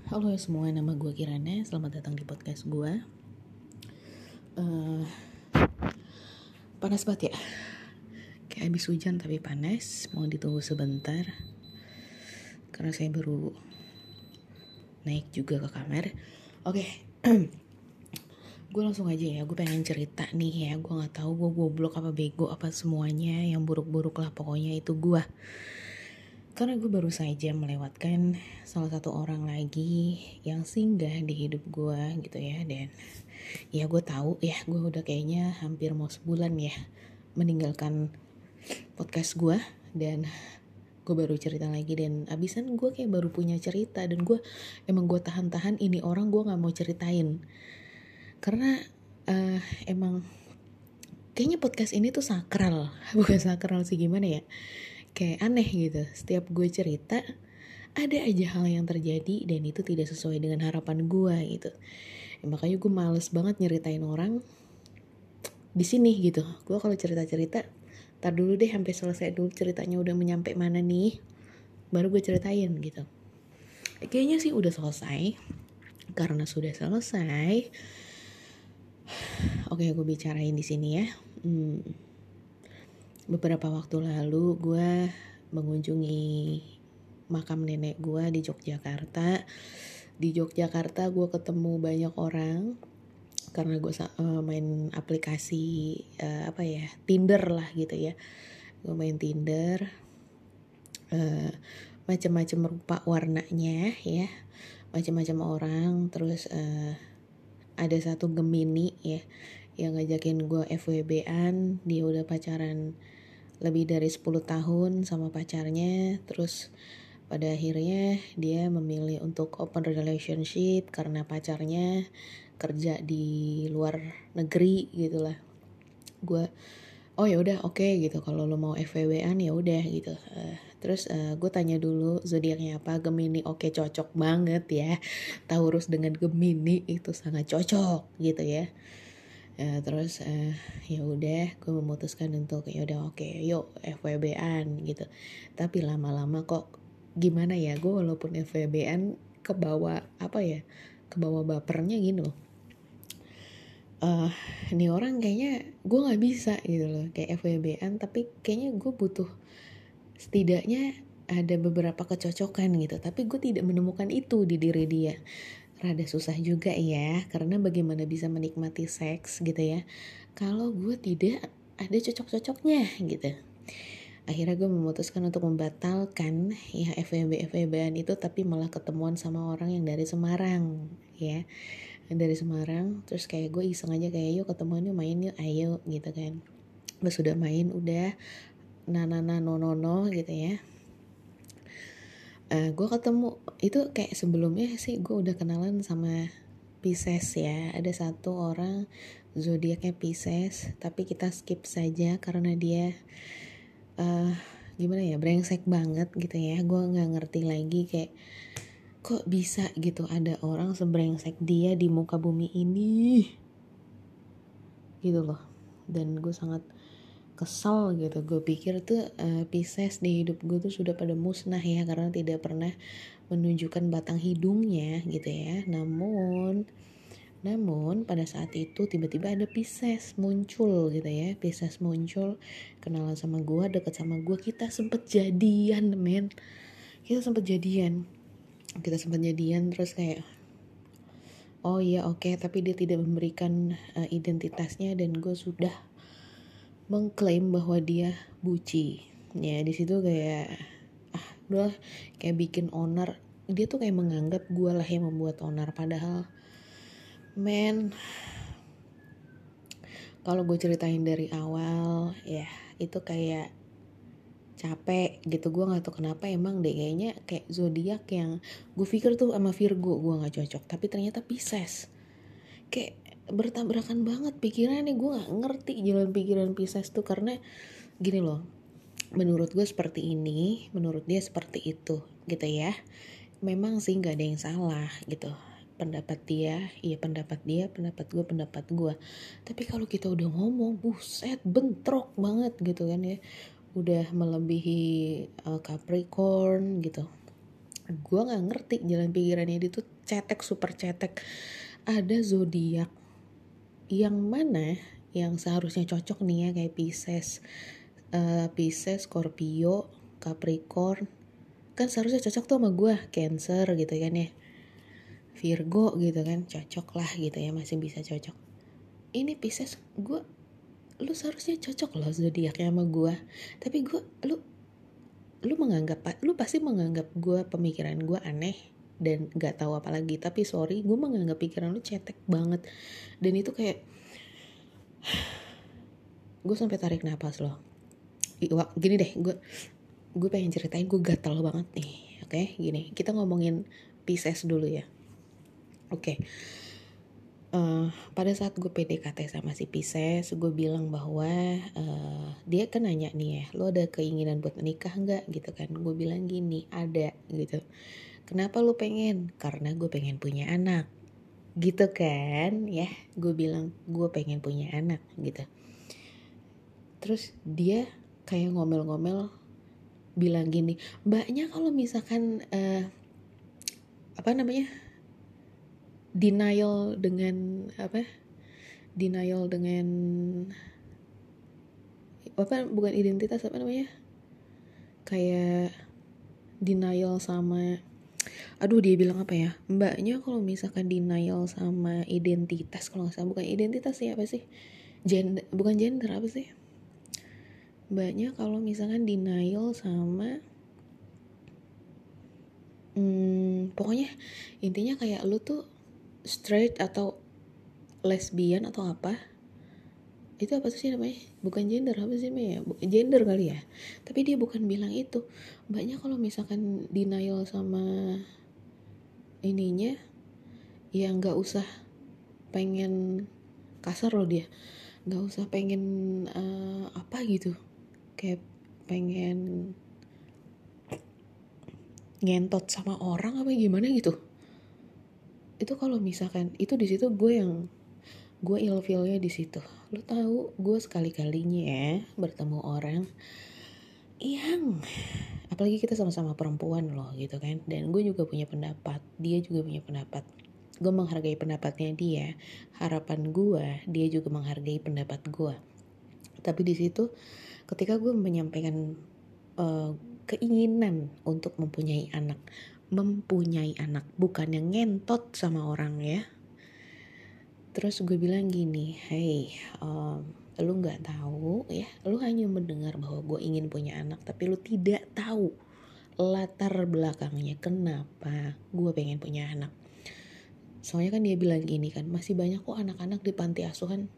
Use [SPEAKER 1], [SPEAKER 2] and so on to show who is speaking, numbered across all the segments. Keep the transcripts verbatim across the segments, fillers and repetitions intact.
[SPEAKER 1] Halo semua, nama gue Kirana. Selamat datang di podcast gue. uh, Panas banget ya. Kayak habis hujan tapi panas. Mau ditunggu sebentar karena saya baru naik juga ke kamar. Oke, okay. Gue langsung aja ya. Gue pengen cerita nih ya. Gue nggak tahu gue goblok apa bego apa semuanya. Yang buruk-buruk lah pokoknya itu gue. Karena gue baru saja melewatkan salah satu orang lagi yang singgah di hidup gue gitu ya. Dan ya gue tahu ya, gue udah kayaknya hampir mau sebulan ya meninggalkan podcast gue. Dan gue baru cerita lagi dan abisan gue kayak baru punya cerita. Dan gue emang gue tahan-tahan ini orang gue gak mau ceritain. Karena uh, emang kayaknya podcast ini tuh sakral. Bukan sakral sih, gimana ya, kayak aneh gitu. Setiap gue cerita ada aja hal yang terjadi dan itu tidak sesuai dengan harapan gue gitu. Ya, makanya gue males banget nyeritain orang di sini gitu. Gue kalau cerita-cerita tar dulu deh sampai selesai dulu ceritanya udah menyampe mana nih, baru gue ceritain gitu. Kayaknya sih udah selesai. Karena sudah selesai, oke gue bicarain di sini ya. Hmm, beberapa waktu lalu gue mengunjungi makam nenek gue di Yogyakarta. Di Yogyakarta gue ketemu banyak orang karena gue uh, main aplikasi uh, apa ya, Tinder lah gitu ya. Gue main Tinder, uh, macam-macam rupa warnanya ya, macam-macam orang. Terus uh, ada satu Gemini ya yang ngajakin gue F W B-an. Dia udah pacaran lebih dari sepuluh tahun sama pacarnya. Terus pada akhirnya dia memilih untuk open relationship karena pacarnya kerja di luar negeri gitulah. Gue oh ya udah oke okay, gitu, kalau lo mau F W B-an ya udah gitu. Uh, terus uh, gue tanya dulu zodiaknya apa. Gemini, oke okay, cocok banget ya. Taurus dengan Gemini itu sangat cocok gitu ya. Uh, terus uh, ya udah gue memutuskan untuk ya udah oke okay, yuk F W B-an gitu. Tapi lama-lama kok gimana ya, gue walaupun F W B-an kebawa apa ya, kebawa bapernya gitu. Uh, ini orang kayaknya gue nggak bisa gitu loh kayak F W B-an, tapi kayaknya gue butuh setidaknya ada beberapa kecocokan gitu. Tapi gue tidak menemukan itu di diri dia. Rada susah juga ya, karena bagaimana bisa menikmati seks gitu ya kalau gue tidak ada cocok-cocoknya gitu. Akhirnya gue memutuskan untuk membatalkan ya F W B F W B-an itu, tapi malah ketemuan sama orang yang dari Semarang ya, dari Semarang. Terus kayak gue iseng aja kayak yuk ketemuan yuk, main yuk, ayo gitu kan. Pas sudah main udah nanana nonono gitu ya. Uh, gue ketemu itu kayak sebelumnya sih gue udah kenalan sama Pisces ya. Ada satu orang zodiaknya Pisces, tapi kita skip saja karena dia uh, gimana ya, brengsek banget gitu ya. Gue nggak ngerti lagi kayak kok bisa gitu ada orang sebrengsek dia di muka bumi ini gitu loh. Dan gue sangat kesal gitu. Gue pikir tuh uh, Pisces di hidup gue tuh sudah pada musnah ya, karena tidak pernah menunjukkan batang hidungnya gitu ya. Namun namun pada saat itu tiba-tiba ada Pisces muncul gitu ya. Pisces muncul, kenalan sama gue, deket sama gue. Kita sempet jadian men. Kita sempet jadian. Kita sempet jadian terus kayak oh iya oke okay, tapi dia tidak memberikan uh, identitasnya dan gue sudah mengklaim bahwa dia buci. Ya di situ kayak ah udah kayak bikin owner. Dia tuh kayak menganggap gue lah yang membuat owner, padahal men kalau gue ceritain dari awal ya itu kayak capek gitu. Gue nggak tahu kenapa emang deh, kayaknya kayak zodiak yang gue pikir tuh sama Virgo gue nggak cocok, tapi ternyata Pisces. Kayak bertabrakan banget pikirannya. Gue nggak ngerti jalan pikiran Pisces tuh, karena gini loh, menurut gue seperti ini, menurut dia seperti itu gitu ya. Memang sih nggak ada yang salah gitu, pendapat dia iya pendapat dia, pendapat gue pendapat gue. Tapi kalau kita udah ngomong buset bentrok banget gitu kan ya, udah melebihi uh, Capricorn gitu. Gue nggak ngerti jalan pikirannya dia tuh cetek, super cetek. Ada zodiak yang mana yang seharusnya cocok nih ya, kayak Pisces, uh, Pisces, Scorpio, Capricorn, kan seharusnya cocok tuh sama gue. Cancer gitu kan ya, Virgo gitu kan, cocok lah gitu ya, masih bisa cocok. Ini Pisces, gue, lu seharusnya cocok loh zodiaknya sama gue, tapi gue, lu lu menganggap, lu pasti menganggap gue, pemikiran gue aneh dan gak tahu apa lagi. Tapi sorry, gue menganggap pikiran lu cetek banget. Dan itu kayak gue sampai tarik napas loh. Gini deh, gue gue pengen ceritain, gue gatel banget nih. Oke, gini, kita ngomongin Pisces dulu ya. Oke, uh, pada saat gue P D K T sama si Pisces, gue bilang bahwa uh, dia kan nanya nih ya, lo ada keinginan buat menikah nggak gitu kan? Gue bilang gini, ada gitu. Kenapa lo pengen? Karena gue pengen punya anak, gitu kan ya? Gue bilang gue pengen punya anak gitu. Terus dia kayak ngomel-ngomel bilang gini, mbaknya kalau misalkan uh, apa namanya? denial dengan apa? Denial dengan apa, bukan identitas, apa namanya, kayak denial sama, aduh dia bilang apa ya, mbaknya kalau misalkan denial sama identitas, kalau nggak salah, bukan identitas sih, apa sih, gender, bukan gender, apa sih, mbaknya kalau misalkan denial sama hmm, pokoknya intinya kayak lu tuh straight atau lesbian atau apa, itu apa sih namanya, bukan gender, apa sih namanya, gender kali ya, tapi dia bukan bilang itu. Mbaknya kalau misalkan denial sama ininya, ya nggak usah pengen, kasar loh dia, nggak usah pengen uh, apa gitu, kayak pengen ngentot sama orang apa gimana gitu. Itu kalau misalkan itu, di situ gue yang gue ilfilnya di situ. Lu tahu, gue sekali-kalinya ya bertemu orang yang, apalagi kita sama-sama perempuan loh gitu kan, dan gue juga punya pendapat, dia juga punya pendapat, gue menghargai pendapatnya dia, harapan gue dia juga menghargai pendapat gue. Tapi di situ ketika gue menyampaikan uh, keinginan untuk mempunyai anak, mempunyai anak, bukan yang ngentot sama orang ya. Terus gue bilang gini, hey, um, lu nggak tahu ya, lu hanya mendengar bahwa gue ingin punya anak, tapi lu tidak tahu latar belakangnya kenapa gue pengen punya anak. Soalnya kan dia bilang gini kan, masih banyak kok anak-anak di panti asuhan.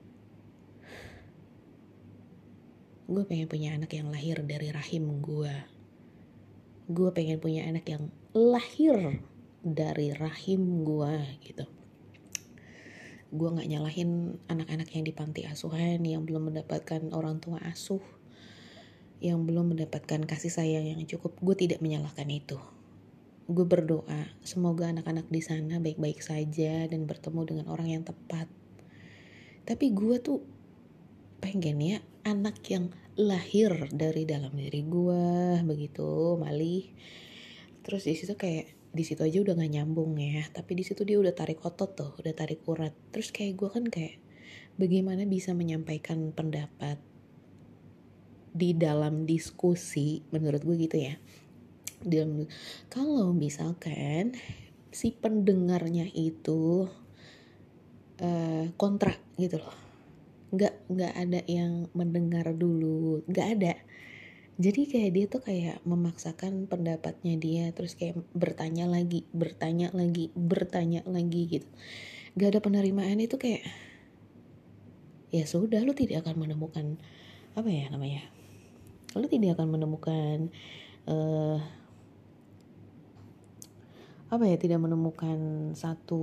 [SPEAKER 1] Gue pengen punya anak yang lahir dari rahim gue. Gue pengen punya anak yang lahir dari rahim gue gitu. Gue gak nyalahin anak-anak yang di panti asuhan, yang belum mendapatkan orang tua asuh, yang belum mendapatkan kasih sayang yang cukup. Gue tidak menyalahkan itu. Gue berdoa semoga anak-anak di sana baik-baik saja dan bertemu dengan orang yang tepat. Tapi gue tuh pengen ya anak yang lahir dari dalam diri gue begitu, Malih. Terus di situ kayak, di situ aja udah gak nyambung ya, tapi di situ dia udah tarik otot tuh, udah tarik urat. Terus kayak gue kan kayak, bagaimana bisa menyampaikan pendapat di dalam diskusi, menurut gue gitu ya. Dalam, kalau misalkan si pendengarnya itu uh, kontra gitu loh, nggak nggak ada yang mendengar dulu, nggak ada. Jadi kayak dia tuh kayak memaksakan pendapatnya dia, terus kayak bertanya lagi, bertanya lagi, bertanya lagi gitu. Gak ada penerimaan, itu kayak, ya sudah, lu tidak akan menemukan, apa ya namanya, lu tidak akan menemukan, uh, apa ya, tidak menemukan satu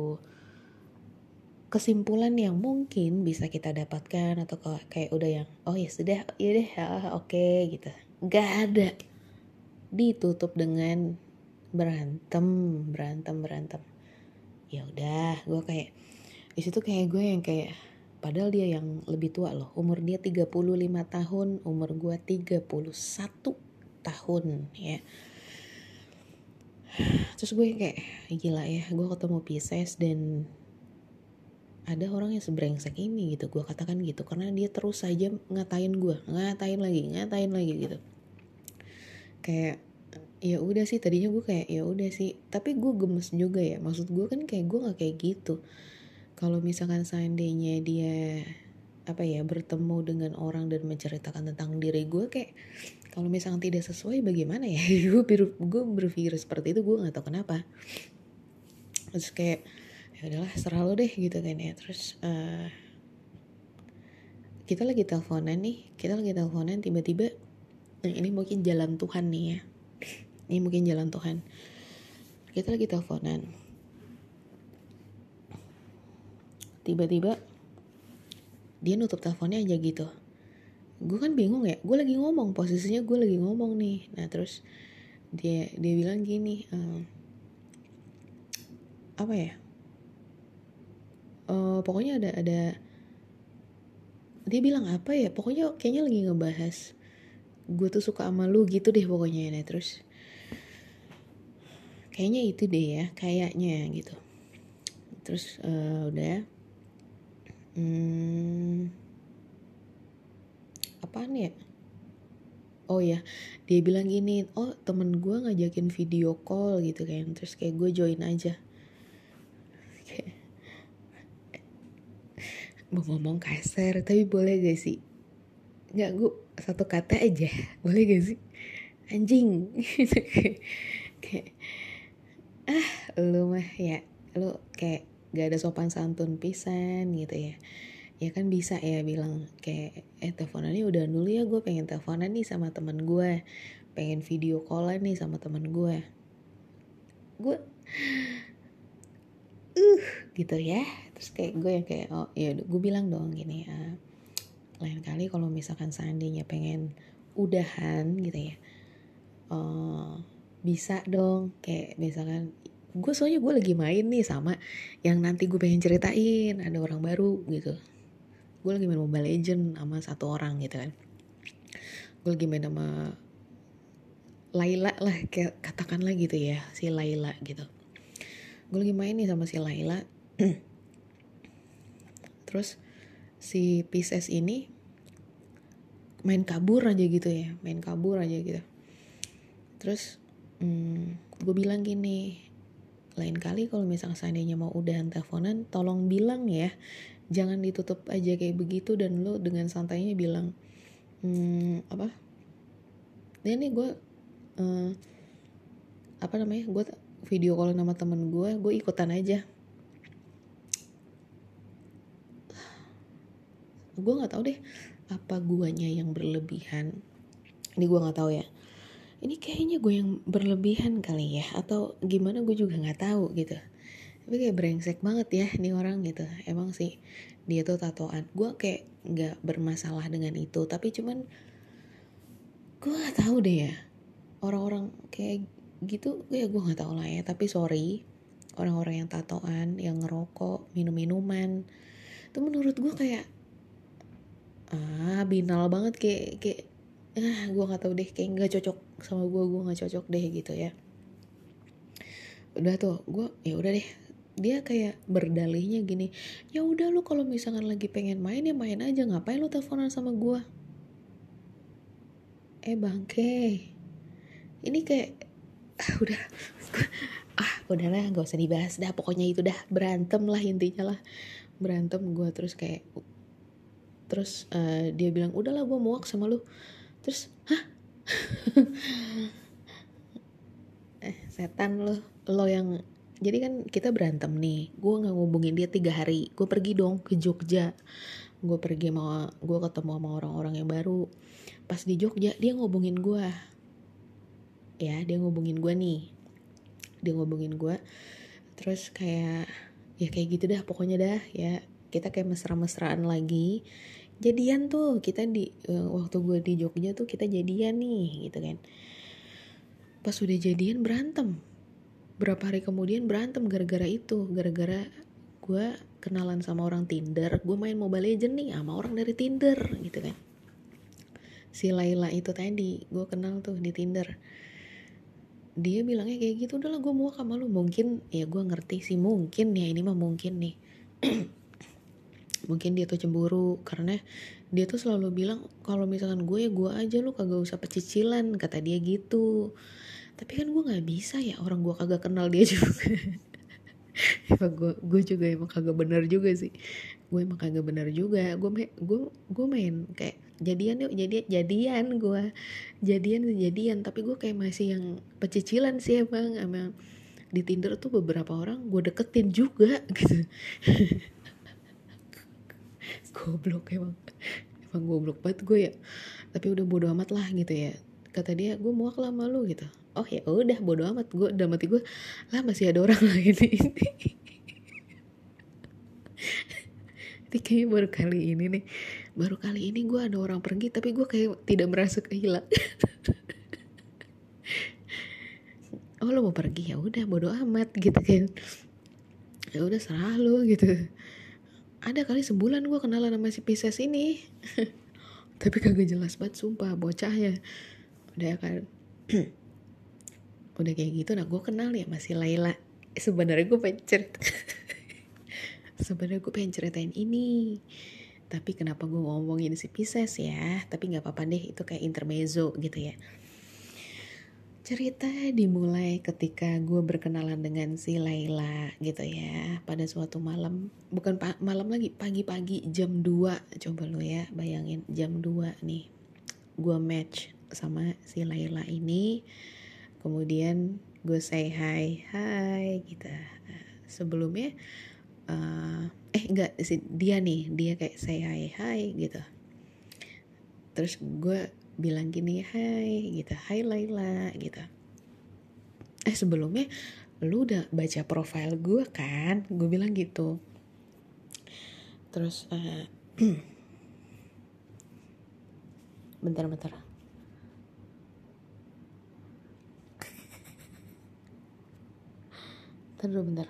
[SPEAKER 1] kesimpulan yang mungkin bisa kita dapatkan, atau kayak udah yang, oh ya sudah, ya deh, oke okay, gitu. Gak ada, ditutup dengan berantem berantem berantem. Ya udah, gue kayak di situ kayak gue yang kayak, padahal dia yang lebih tua loh, umur dia tiga puluh lima tahun, umur gue tiga puluh satu tahun ya. Terus gue kayak gila ya, gue ketemu Pisces dan ada orang yang sebrengsek ini gitu, gue katakan gitu, karena dia terus saja ngatain gue, ngatain lagi, ngatain lagi gitu. Kayak ya udah sih, tadinya gue kayak ya udah sih, tapi gue gemes juga ya. Maksud gue kan kayak gue nggak kayak gitu. Kalau misalkan seandainya dia apa ya bertemu dengan orang dan menceritakan tentang diri gue, kayak kalau misalkan tidak sesuai bagaimana ya, gue ber, gue berpikir seperti itu, gue nggak tahu kenapa. Terus kayak ya udahlah serah lo deh gitu kan ya. Terus uh, kita lagi teleponan nih, kita lagi teleponan tiba-tiba, nah ini mungkin jalan Tuhan nih ya, ini mungkin jalan Tuhan. Kita lagi teleponan, tiba-tiba dia nutup teleponnya aja gitu. Gue kan bingung ya, gue lagi ngomong, posisinya gue lagi ngomong nih. Nah terus dia dia bilang gini, ehm, apa ya? Uh, pokoknya ada ada dia bilang apa ya? Pokoknya kayaknya lagi ngebahas gue tuh suka sama lu gitu deh pokoknya. Nah terus kayaknya itu deh ya, kayaknya gitu. Terus uh, udah, hmm, apaan ya? Oh ya, dia bilang gini, oh temen gue ngajakin video call gitu kan. Terus kayak gue join aja. Mau ngomong kasar, tapi boleh gak sih? Nggak, gue satu kata aja, boleh gak sih? Anjing. Kayak, ah lu mah ya, lu kayak gak ada sopan santun pisan gitu ya. Ya kan bisa ya bilang kayak, eh teleponannya udah dulu ya, gue pengen teleponan nih sama teman gue, pengen video callan nih sama teman gue. Gue uh gitu ya. Terus kayak gue yang kayak oh ya gue bilang dong gini, ah, lain kali kalau misalkan seandainya pengen udahan gitu ya, uh, bisa dong kayak misalkan gue soalnya gue lagi main nih sama yang nanti gue pengen ceritain, ada orang baru gitu. Gue lagi main Mobile Legend sama satu orang gitu kan. Gue lagi main sama Laila lah, kayak katakanlah gitu ya, si Laila gitu. Gue lagi main nih sama si Laila. Terus si Pisces ini main kabur aja gitu ya, main kabur aja gitu. Terus hmm, gue bilang gini, lain kali kalau misalnya seandainya mau udahan teleponan, tolong bilang ya, jangan ditutup aja kayak begitu. Dan lo dengan santainya bilang, hmm, apa? Dan nih gue, uh, apa namanya? Gue video call sama temen gue, gue ikutan aja. Gue nggak tahu deh, apa guanya yang berlebihan. Ini gue nggak tahu ya. Ini kayaknya gue yang berlebihan kali ya, atau gimana gue juga nggak tahu gitu. Tapi kayak brengsek banget ya nih orang gitu. Emang sih dia tuh tatoan. Gue kayak nggak bermasalah dengan itu, tapi cuman gue nggak tahu deh ya, orang-orang kayak gitu ya gue nggak tahu lah ya. Tapi sorry, orang-orang yang tatoan, yang ngerokok, minum-minuman, itu menurut gue kayak ah binal banget, kayak kayak ah gue nggak tahu deh, kayak nggak cocok sama gue, gue nggak cocok deh gitu ya. Udah tuh gue ya udah deh, dia kayak berdalihnya gini, ya udah lu kalau misalkan lagi pengen main ya main aja, ngapain lu teleponan sama gue. Eh bangke, ini kayak ah udah ah udahlah gak usah dibahas dah, pokoknya itu dah, berantem lah intinya lah, berantem gue. Terus kayak terus uh, dia bilang udahlah gue muak sama lu. Terus hah eh setan lo lo yang jadi kan kita berantem nih, gue nggak ngubungin dia tiga hari, gue pergi dong ke Jogja, gue pergi sama gue ketemu sama orang-orang yang baru. Pas di Jogja dia ngubungin gue ya, dia ngubungin gue nih, dia ngubungin gue. Terus kayak ya kayak gitu dah pokoknya dah ya, kita kayak mesra-mesraan lagi, jadian tuh kita di uh, waktu gue di Jogja tuh kita jadian nih gitu kan. Pas udah jadian berantem, berapa hari kemudian berantem gara-gara itu, gara-gara gue kenalan sama orang Tinder, gue main Mobile Legend nih sama orang dari Tinder gitu kan. Si Laila itu tadi gue kenal tuh di Tinder. dia bilangnya kayak gitu, udahlah gue muak sama lu. Mungkin ya gue ngerti sih, mungkin ya ini mah mungkin nih mungkin dia tuh cemburu karena dia tuh selalu bilang kalau misalkan gue ya gue aja, lu kagak usah pecicilan, kata dia gitu. Tapi kan gue nggak bisa ya, orang gue kagak kenal dia juga. Emang gue gue juga emang kagak benar juga sih, gue emang kagak benar juga. Gue main gue gue main kayak jadian yuk, jadian jadian gue jadian jadian tapi gue kayak masih yang pecicilan sih emang. Emang di Tinder tuh beberapa orang gue deketin juga gitu. Goblok emang, emang goblok banget gue ya. Tapi udah bodo amat lah gitu ya, kata dia gue muak lah sama lu gitu. Oh ya udah bodo amat, gue udah mati gue lah, masih ada orang lain ini. Ini kayaknya baru kali ini nih, baru kali ini gue ada orang pergi tapi gue kayak tidak merasa kehilangan. Oh lo mau pergi, ya udah bodo amat gitu kan, ya udah serah lu gitu. Ada kali sebulan gue kenalan sama si Pisces ini. Tapi kagak jelas banget sumpah bocahnya. Udah kan udah kayak gitu. Nah gue kenal ya masih Laila. Sebenarnya gue pengen cerita sebenarnya gue pengen ceritain ini, tapi kenapa gue ngomongin si Pisces ya. Tapi gak apa-apa deh, itu kayak intermezzo gitu ya. Cerita dimulai ketika gue berkenalan dengan si Laila gitu ya. Pada suatu malam, bukan pa- malam lagi, pagi-pagi jam dua. Coba lu ya bayangin, jam dua nih gue match sama si Laila ini. Kemudian gue say hi, hai gitu. Nah, sebelumnya uh, eh enggak si dia nih, dia kayak say hi, hai gitu. Terus gue bilang gini, hai gitu, hai Laila gitu. Eh sebelumnya lu udah baca profile gue kan? Gue bilang gitu. Terus uh, bentar-bentar. Bentar dulu bentar.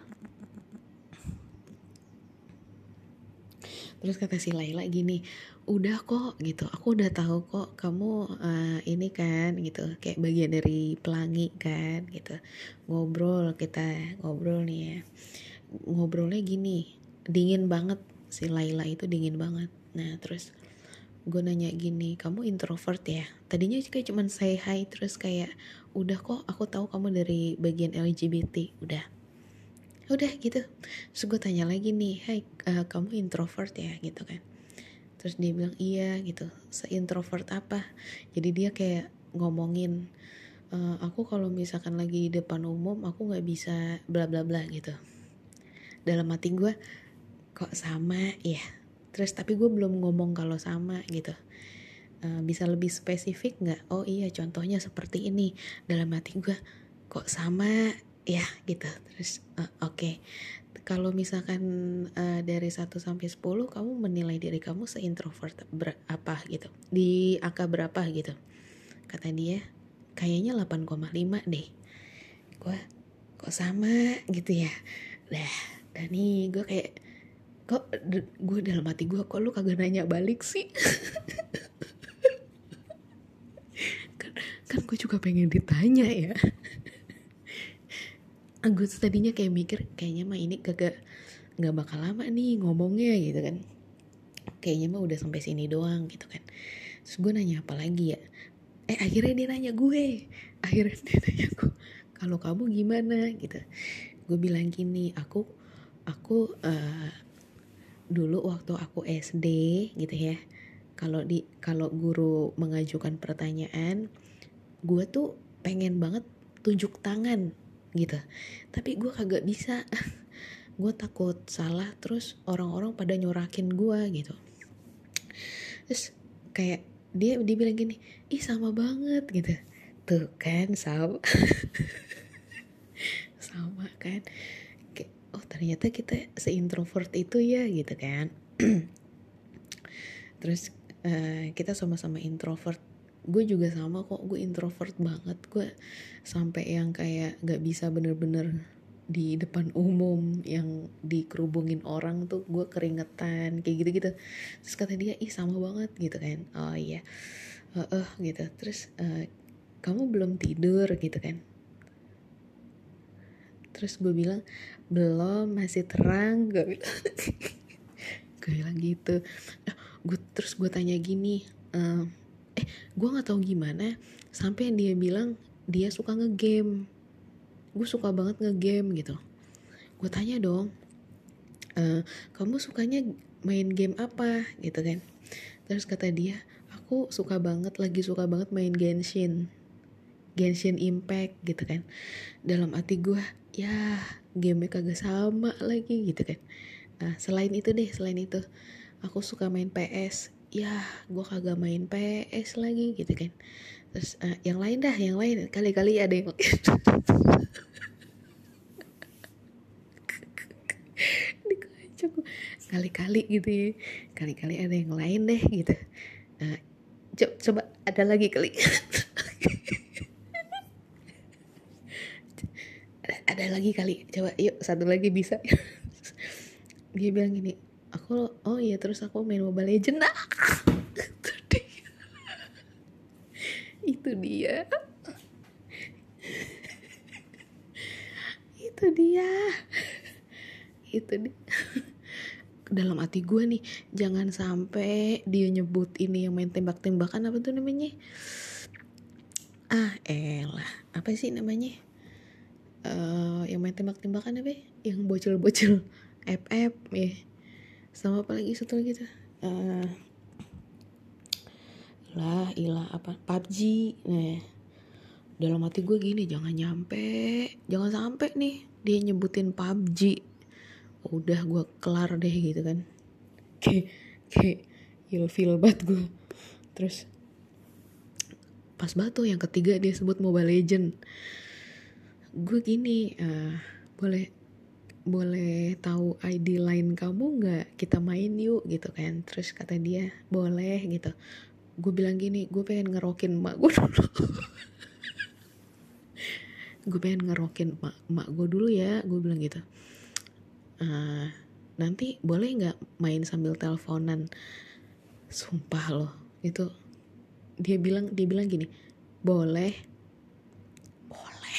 [SPEAKER 1] Terus kata si Laila gini, udah kok gitu, aku udah tahu kok kamu uh, ini kan gitu, kayak bagian dari pelangi kan gitu. Ngobrol, kita ngobrol nih ya, ngobrolnya gini, dingin banget, si Laila itu dingin banget. Nah terus gue nanya gini, kamu introvert ya? Tadinya kayak cuman say hi, terus kayak udah kok aku tahu kamu dari bagian L G B T, udah udah gitu. Terus gue tanya lagi nih, hai uh, kamu introvert ya gitu kan. Terus dia bilang iya gitu, se-introvert apa. Jadi dia kayak ngomongin, e, aku kalau misalkan lagi di depan umum aku gak bisa bla bla bla gitu. Dalam hati gue, kok sama ya. Terus tapi gue belum ngomong kalau sama gitu. e, Bisa lebih spesifik gak? Oh iya contohnya seperti ini. Dalam hati gue, kok sama ya gitu. Terus uh, oke okay. Kalau misalkan uh, dari satu sampai sepuluh kamu menilai diri kamu se-introvert berapa gitu, di angka berapa gitu. Kata dia kayaknya delapan koma lima deh. Gue kok sama gitu ya. Dah dan nih gue kayak kok gue dalam hati gue, kok lu kagak nanya balik sih. kan, kan gue juga pengen ditanya ya. Gue tadinya kayak mikir kayaknya mah ini kagak nggak bakal lama nih ngomongnya gitu kan, kayaknya mah udah sampai sini doang gitu kan. Terus gue nanya apa lagi ya, eh akhirnya dia nanya gue akhirnya dia nanya gue kalau kamu gimana gitu. Gue bilang gini, aku aku uh, dulu waktu aku S D gitu ya, kalau di kalau guru mengajukan pertanyaan, gue tuh pengen banget tunjuk tangan gitu, tapi gue kagak bisa. Gue takut salah, terus orang-orang pada nyorakin gue gitu. Terus kayak dia dia bilang gini, ih sama banget gitu. Tuh kan sama. Sama kan. Kayak, oh ternyata kita se-introvert itu ya gitu kan. Terus uh, kita sama-sama introvert. Gue juga sama kok, gue introvert banget. Gue sampai yang kayak gak bisa bener-bener di depan umum, yang dikerubungin orang tuh gue keringetan kayak gitu-gitu. Terus kata dia, ih sama banget gitu kan. Oh iya, uh, uh, gitu. Terus uh, kamu belum tidur gitu kan. Terus gue bilang belum, masih terang, gue bilang. Gue bilang gitu. Nah, gue terus gue tanya gini, ehm, eh gue nggak tahu gimana sampai dia bilang dia suka ngegame. Gue suka banget ngegame gitu. Gue tanya dong, e, kamu sukanya main game apa gitu kan? Terus kata dia, aku suka banget, lagi suka banget main Genshin. Genshin Impact gitu kan. Dalam hati gue, ya gamenya kagak sama lagi gitu kan. Nah selain itu deh, selain itu aku suka main P S. Ya gue kagak main P S lagi gitu kan. Terus uh, yang lain dah, yang lain kali-kali ada yang kali-kali gitu ya, kali-kali ada yang lain deh gitu. Uh, co- coba ada lagi kali. ada lagi kali, coba yuk satu lagi bisa. Dia bilang gini, aku oh iya terus aku main Mobile Legends. Nah, itu dia itu dia itu dia dalam hati gue nih, jangan sampai dia nyebut ini yang main tembak-tembakan apa tuh namanya, ah elah apa sih namanya, uh, yang main tembak-tembakan apa ya? Yang bocil-bocil F F ya, sama apa lagi satu lagi tuh, uh, lah ilah apa P U B G. Nah dalam hati gue gini, jangan nyampe jangan sampai nih dia nyebutin P U B G, udah gue kelar deh gitu kan. Kayak kayak ilfil banget gue. Terus pas batu yang ketiga dia sebut Mobile Legend, gue gini, uh, boleh boleh tahu I D line kamu nggak, kita main yuk gitu kan. Terus kata dia boleh gitu. Gue bilang gini, gue pengen ngerokin emak gue dulu. gue pengen ngerokin emak, emak gue dulu ya, gue bilang gitu. Uh, nanti boleh nggak main sambil teleponan? Sumpah loh itu dia bilang dia bilang gini, boleh boleh.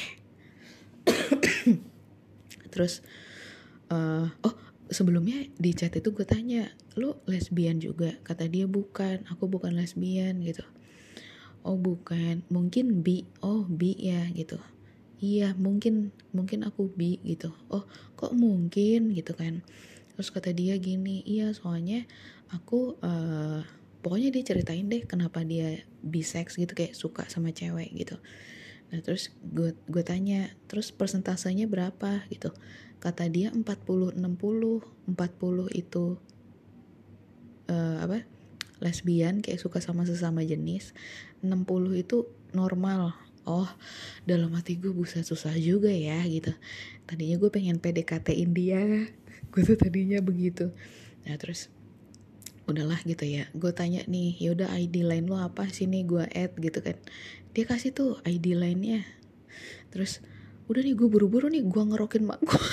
[SPEAKER 1] Terus uh, oh sebelumnya di chat itu gue tanya, lu lesbian juga? Kata dia bukan, aku bukan lesbian gitu. Oh bukan, mungkin bi. Oh bi ya gitu. Iya mungkin mungkin aku bi gitu. Oh kok mungkin gitu kan. Terus kata dia gini, iya soalnya aku uh, pokoknya dia ceritain deh kenapa dia bisex gitu, kayak suka sama cewek gitu. Nah terus gue gue tanya, terus persentasenya berapa gitu. Kata dia empat puluh enam puluh. empat puluh itu uh, apa? lesbian, kayak suka sama sesama jenis. enam puluh itu normal. Oh, dalam hati gue buset susah juga ya gitu. Tadinya gue pengen P D K T-in dia. Gue tuh tadinya begitu. Nah terus udahlah gitu ya, gue tanya nih, yaudah I D line lo apa sih nih, gue add gitu kan. Dia kasih tuh I D line-nya. Terus udah nih gue buru-buru nih, gue ngerokin mak gue.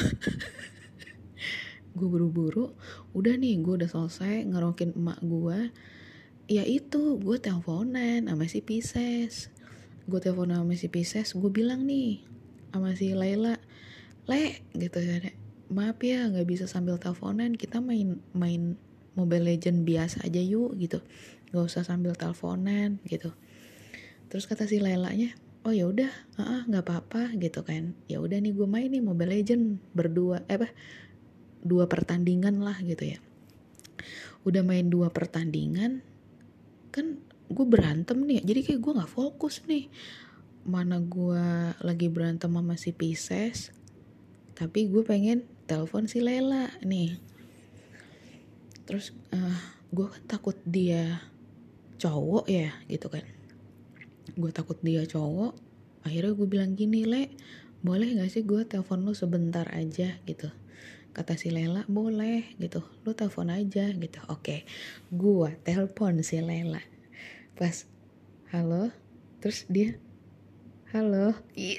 [SPEAKER 1] Gue buru-buru, udah nih gue udah selesai ngerokin emak gue. Ya itu gue teleponan sama si Pisces. Gue teleponan sama si Pisces, gue bilang nih sama si Laila, Le gitu ya, maaf ya nggak bisa sambil teleponan, kita main main Mobile Legend biasa aja yuk gitu, nggak usah sambil teleponan gitu. Terus kata si Lailanya, oh ya udah, nggak apa-apa gitu kan. Ya udah nih gue main nih Mobile Legend berdua, eh apa dua pertandingan lah gitu ya. Udah main dua pertandingan kan gue berantem nih, jadi kayak gue nggak fokus nih, mana gue lagi berantem sama si Pisces tapi gue pengen telepon si Lela nih. Terus uh, gue kan takut dia cowok ya gitu kan, gue takut dia cowok. Akhirnya gue bilang gini, Le boleh gak sih gue telepon lu sebentar aja gitu. Kata si Lela, boleh gitu, lu telepon aja gitu. Oke, gue telepon si Lela. Pas halo, terus dia halo. Ih.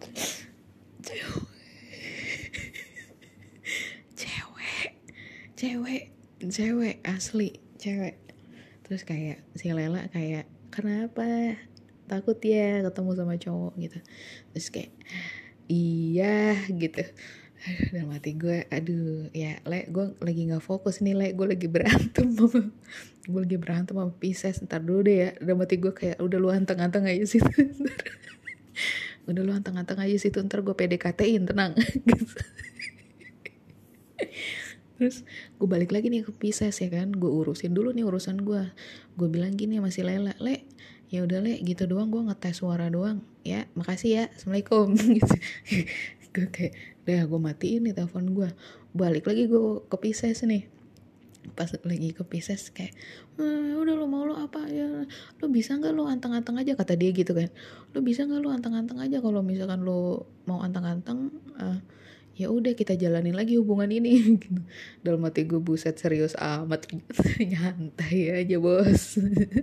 [SPEAKER 1] cewek cewek cewek asli cewek. Terus kayak si Lela kayak, kenapa takut ya ketemu sama cowok gitu. Terus kayak iya gitu. Aduh, dalam hati gue, aduh ya le, gue lagi gak fokus nih le, gue lagi berantem sama, gue lagi berantem sama Pisces, ntar dulu deh ya. Dalam hati gue kayak, udah lu anteng-anteng aja sih, udah lu anteng-anteng aja sih, ntar gue P D K T-in, tenang. Gitu. Terus gue balik lagi nih ke Pisces ya kan, gue urusin dulu nih urusan gue. Gue bilang gini sama si Lela, le, ya udah le, gitu doang, gue ngetes suara doang, ya makasih ya, assalamualaikum. Gitu. Gue kayak, udah gue matiin nih telepon gue. Balik lagi gue ke Pisces nih. Pas lagi ke Pisces kayak, eh, udah lo mau lo apa ya, lo bisa nggak lo anteng-anteng aja, kata dia gitu kan. Lo bisa nggak lo anteng-anteng aja, kalau misalkan lo mau anteng-anteng, uh, ya udah kita jalanin lagi hubungan ini. Gitu. Dalam hati gue, buset serius amat. Nyantai aja bos.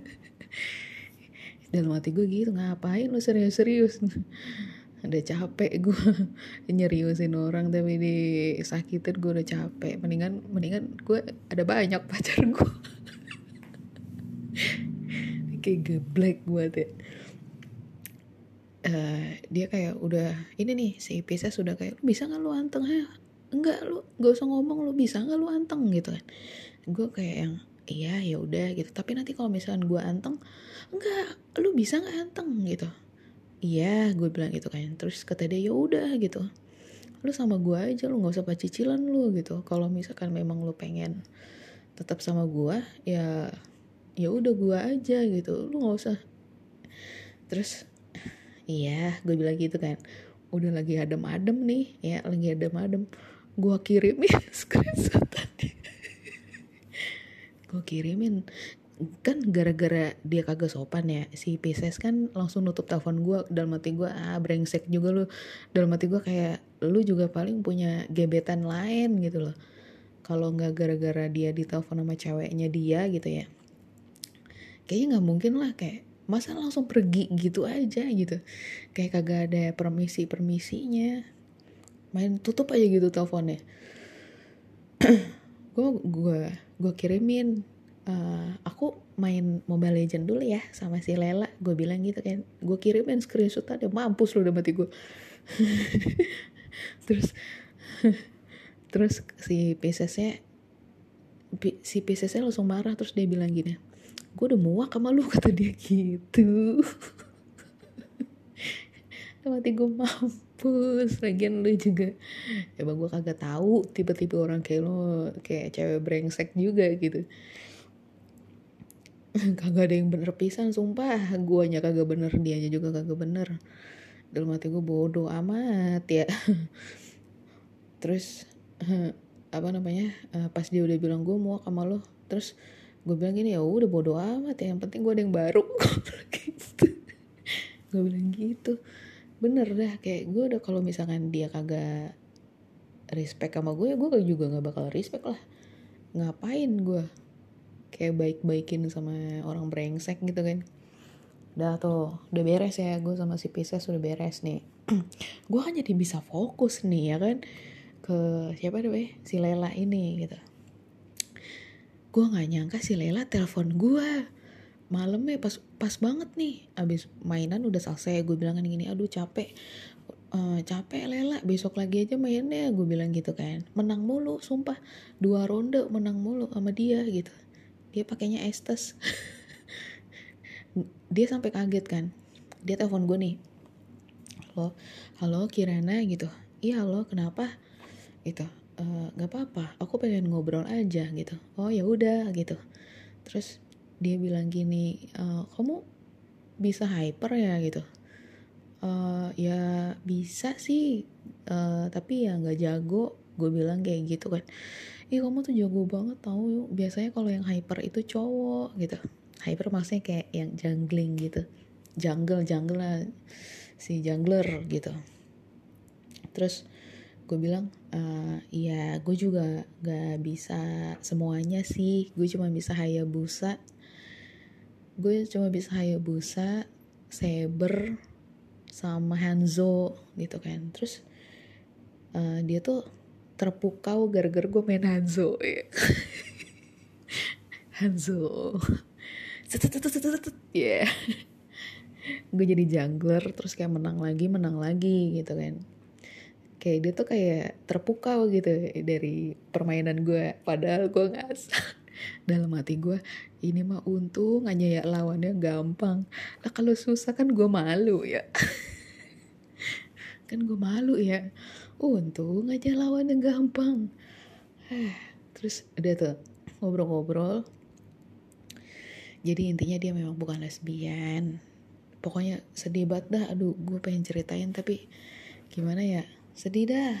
[SPEAKER 1] Dalam hati gue gitu, ngapain lo serius-serius. Udah capek gue nyeriusin orang tapi disakitin, gue udah capek. Mendingan mendingan gue ada banyak pacar gue. Kayak geblek buat ya. Uh, dia kayak udah ini nih, si Pisces sudah kayak, bisa nggak lu anteng ya? Enggak, lu gak usah ngomong, lu bisa nggak lu anteng gitu kan. Gue kayak yang iya ya udah gitu, tapi nanti kalau misalkan gue anteng, enggak, lu bisa nggak anteng gitu. Iya, gue bilang gitu kan. Terus kata dia, ya udah gitu, lu sama gue aja, lu nggak usah pacicilan lu gitu. Kalau misalkan memang lu pengen tetap sama gue, ya ya udah gue aja gitu, lu nggak usah. Terus iya, gue bilang gitu kan. Udah lagi adem-adem nih, ya lagi adem-adem. Gue kirimin screenshotannya. Gue kirimin. Kan gara-gara dia kagak sopan ya, si Pisces kan langsung nutup telepon gue. Dalam hati gue, ah brengsek juga lu. Dalam hati gue kayak, lu juga paling punya gebetan lain gitu loh. Kalau gak gara-gara dia ditelepon sama ceweknya dia gitu ya, kayaknya gak mungkin lah, kayak masa langsung pergi gitu aja gitu, kayak kagak ada permisi-permisinya, main tutup aja gitu teleponnya. gue gue gue kirimin, uh, aku main Mobile Legend dulu ya sama si Lela, gue bilang gitu kan. Gue kirimin screenshot, ada mampus lu udah mati gue. terus terus si Piscesnya si Piscesnya langsung marah. Terus dia bilang gini, gue udah muak sama lu, kata dia gitu. Mati gue, mampus. Lagian lu juga, emang gue kagak tahu tipe-tipe orang kayak lu, kayak cewek brengsek juga gitu. Kagak ada yang bener pisan, sumpah. Guanya kagak bener, dianya juga kagak bener. Dalam hati gue, bodoh amat ya. Terus apa namanya, pas dia udah bilang gue muak sama lu, terus gue bilang gini, ya udah bodo amat ya, yang penting gue ada yang baru. Gitu. Gue bilang gitu. Bener dah, kayak gue udah, kalau misalkan dia kagak respect sama gue, ya gue juga gak bakal respect lah. Ngapain gue kayak baik-baikin sama orang brengsek gitu kan. Udah tuh, udah beres ya, gue sama si Pisces udah beres nih. Gue kan jadi bisa fokus nih ya kan, ke siapa deh, si Lela ini gitu. Gue nggak nyangka si Lela telepon gue malamnya pas pas banget nih, abis mainan udah selesai. Gue bilang kan gini, aduh capek, uh, capek Lela, besok lagi aja mainnya. Gue bilang gitu kan, menang mulu, sumpah dua ronde menang mulu sama dia gitu. Dia pakainya Estes. Dia sampai kaget kan, dia telepon gue nih, halo halo Kirana gitu. Iya halo, kenapa gitu. Uh, gak apa-apa, aku pengen ngobrol aja gitu. Oh ya udah gitu. Terus dia bilang gini, e, kamu bisa hyper ya gitu. Uh, ya bisa sih, uh, tapi ya nggak jago. Gue bilang kayak gitu kan. Ih kamu tuh jago banget tau. Biasanya kalau yang hyper itu cowok gitu. Hyper maksudnya kayak yang jungling gitu. Jungle jungle lah, si jungler gitu. Terus gue bilang, uh, ya gue juga gak bisa semuanya sih, gue cuma bisa Hayabusa, gue cuma bisa Hayabusa, Saber, sama Hanzo gitu kan. Terus uh, dia tuh terpukau gara-gara gue main Hanzo ya. Hanzo ya yeah. Gue jadi jungler, terus kayak menang lagi menang lagi gitu kan. Kayak dia tuh kayak terpukau gitu dari permainan gue. Padahal gue gak dalam hati gue, ini mah untung aja ya lawannya gampang. Lah kalau susah kan gue malu ya. Kan gue malu ya. Untung aja lawannya gampang. Terus udah tuh ngobrol-ngobrol. Jadi intinya dia memang bukan lesbian. Pokoknya sedih banget dah. Aduh, gue pengen ceritain tapi gimana ya, sedih dah.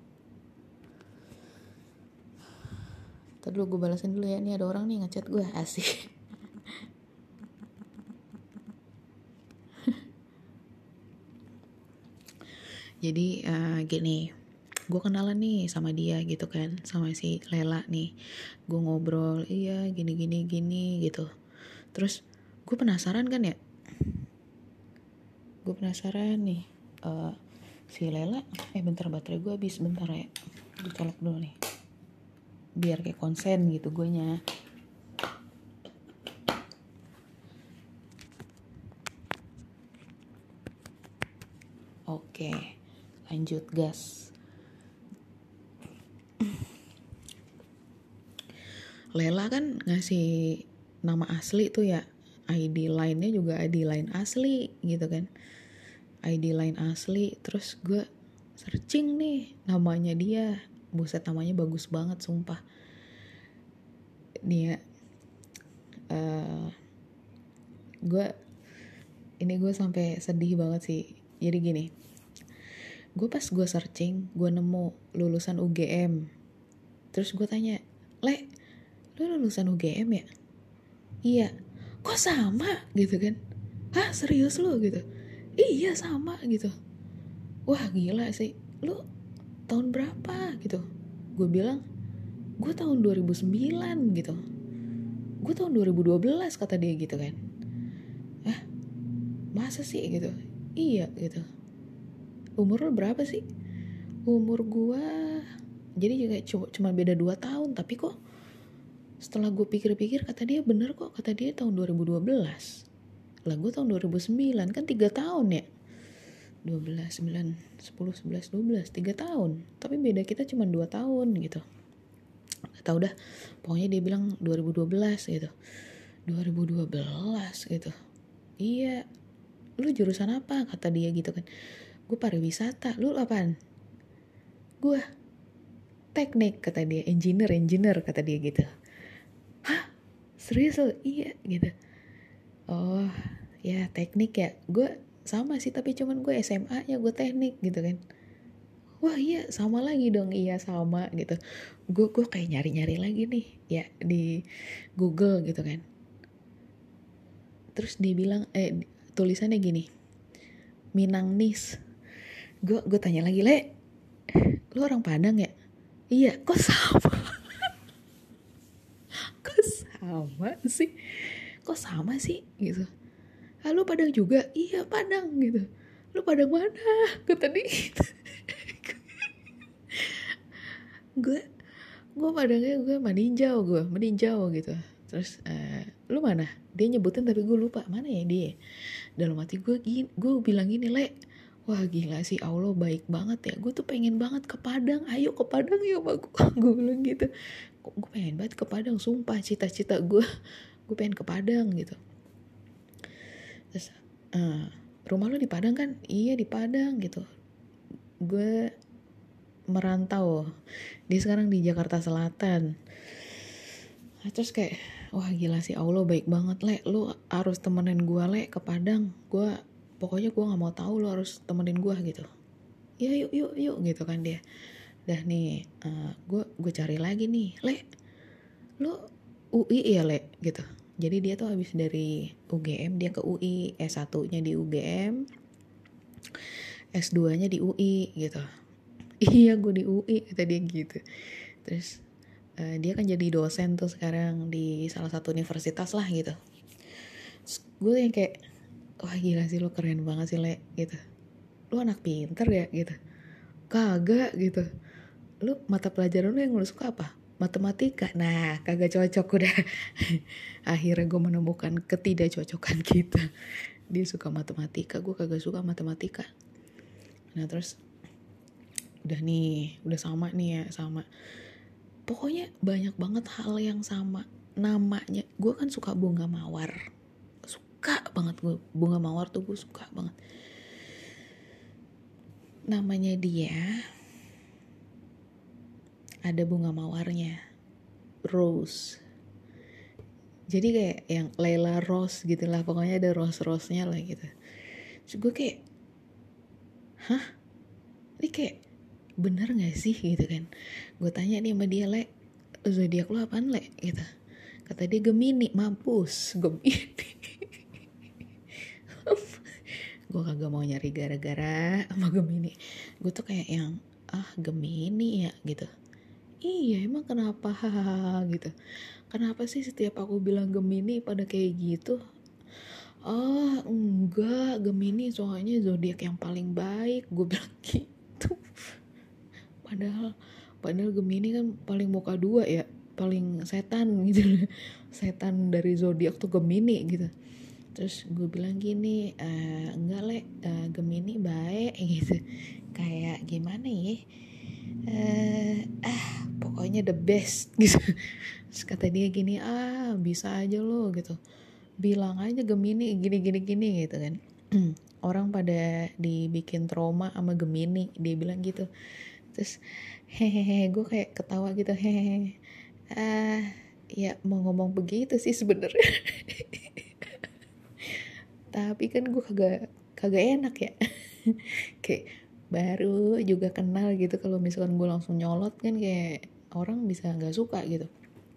[SPEAKER 1] Ntar dulu gue balasin dulu ya. Ini ada orang nih ngechat gue, asik. Jadi uh, gini, gue kenalan nih sama dia gitu kan, sama si Lela nih. Gue ngobrol, iya gini gini gini gitu. Terus gue penasaran kan ya. Gue penasaran nih. Uh, si Lela, eh bentar baterai gue habis, bentar ya. Gue colok dulu nih. Biar kayak konsen gitu gue nya. Oke, lanjut gas. Lela kan ngasih nama asli tuh ya, I D line-nya juga I D line asli gitu kan, I D line asli. Terus gue searching nih namanya dia, buset namanya bagus banget sumpah. Nih ya, uh, gue ini gue sampai sedih banget sih. Jadi gini, gue pas gue searching, gue nemu lulusan U G M. Terus gue tanya, Le, lu lulusan U G M ya? Iya. Kok sama gitu kan? Hah, serius lu gitu? Iya sama gitu. Wah gila sih. Lu tahun berapa gitu? Gue bilang, gue tahun dua ribu sembilan gitu. Gue tahun dua ribu dua belas kata dia gitu kan. Hah? Masa sih gitu? Iya gitu. Umur lu berapa sih? Umur gue, jadi juga cuma, cuma beda dua tahun. Tapi kok setelah gue pikir-pikir kata dia bener kok. Kata dia tahun dua ribu dua belas. Lah gue tahun dua ribu sembilan, kan tiga tahun ya. dua belas, sembilan, sepuluh, sebelas, dua belas, tiga tahun. Tapi beda kita cuma dua tahun gitu. Gak tau dah, pokoknya dia bilang dua ribu dua belas gitu. dua ribu dua belas gitu. Iya, lu jurusan apa? Kata dia gitu kan. Gue pariwisata. Lu apaan? Gue teknik, kata dia. Engineer, engineer kata dia gitu. Hah? Serius lu? Iya gitu. Oh ya teknik ya. Gue sama sih tapi cuman gue S M A nya gue teknik gitu kan. Wah iya sama lagi dong. Iya sama gitu. Gue gue kayak nyari-nyari lagi nih ya di Google gitu kan. Terus dia bilang eh tulisannya gini, Minangnis. Gue gue tanya lagi, Le, lu orang Padang ya? Iya. Kok sama? Kok sama sih? Kok sama sih gitu? Ah, lu Padang juga? Iya Padang gitu. Lu Padang mana? Kata dia gitu. gue gue Padangnya gue Maninjau, gue Maninjau gitu. Terus uh, lu mana? Dia nyebutin tapi gue lupa mana ya dia. Dalam hati gue gini, gue bilang gini, Le, wah gila sih Allah baik banget ya. Gue tuh pengen banget ke Padang. Ayo ke Padang yuk gue. Gue bilang gitu. Gue pengen banget ke Padang, sumpah cita-cita gue. Gue pengen ke Padang gitu. Terus uh, rumah lu di Padang kan? Iya di Padang gitu. Gue merantau. Dia sekarang di Jakarta Selatan. Nah, terus kayak wah gila sih Allah baik banget, Le. Lu harus temenin gue, Le, ke Padang. Gue pokoknya gue nggak mau tahu, lu harus temenin gue gitu. Ya yuk yuk yuk gitu kan dia. Dah nih uh, gue gue cari lagi nih, Le. Lu U I ya, Le gitu. Jadi dia tuh habis dari U G M dia ke U I, S satu-nya di U G M, S dua-nya di U I gitu. Iya gue di U I kata dia gitu. Terus uh, dia kan jadi dosen tuh sekarang di salah satu universitas lah gitu. Terus gue yang kayak wah gila sih lu keren banget sih, Le gitu. Lu anak pinter ya gitu. Kagak gitu. Lu mata pelajaran lu yang lu suka apa? Matematika. Nah kagak cocok udah. Akhirnya gue menemukan ketidakcocokan kita. Dia suka matematika, gue kagak suka matematika. Nah terus udah nih, udah sama nih ya, sama. Pokoknya banyak banget hal yang sama. Namanya, gue kan suka bunga mawar. Suka banget gue, bunga mawar tuh gue suka banget. Namanya dia, ada bunga mawarnya, Rose. Jadi kayak yang Layla Rose gitu lah, pokoknya ada rose-rose-nya lah gitu. Terus gue kayak, hah? Ini kayak bener gak sih gitu kan? Gue tanya nih sama dia, Le, zodiak lo apaan, Le? Gitu. Kata dia Gemini. Mampus, Gemini. Gue kagak mau nyari gara-gara sama Gemini. Gue tuh kayak yang, ah Gemini ya gitu. Iya emang kenapa hahaha gitu. Kenapa sih setiap aku bilang Gemini pada kayak gitu? Ah enggak, Gemini soalnya zodiak yang paling baik. Gue bilang gitu. Padahal padahal Gemini kan paling muka dua ya, paling setan gitu. Setan dari zodiak tuh Gemini gitu. Terus gue bilang gini, e, enggak Le, uh, Gemini baik gitu. Kayak gimana ya? Uh, ah pokoknya the best gitu. Terus kata dia gini, ah bisa aja lo gitu, bilang aja Gemini gini gini gini gitu kan. Orang pada dibikin trauma sama Gemini, dia bilang gitu. Terus hehehe, gue kayak ketawa gitu, hehehe. Ah ya mau ngomong begitu sih sebenarnya. Tapi kan gue kagak kagak enak ya. Kayak baru juga kenal gitu, kalau misalkan gue langsung nyolot kan kayak orang bisa nggak suka gitu.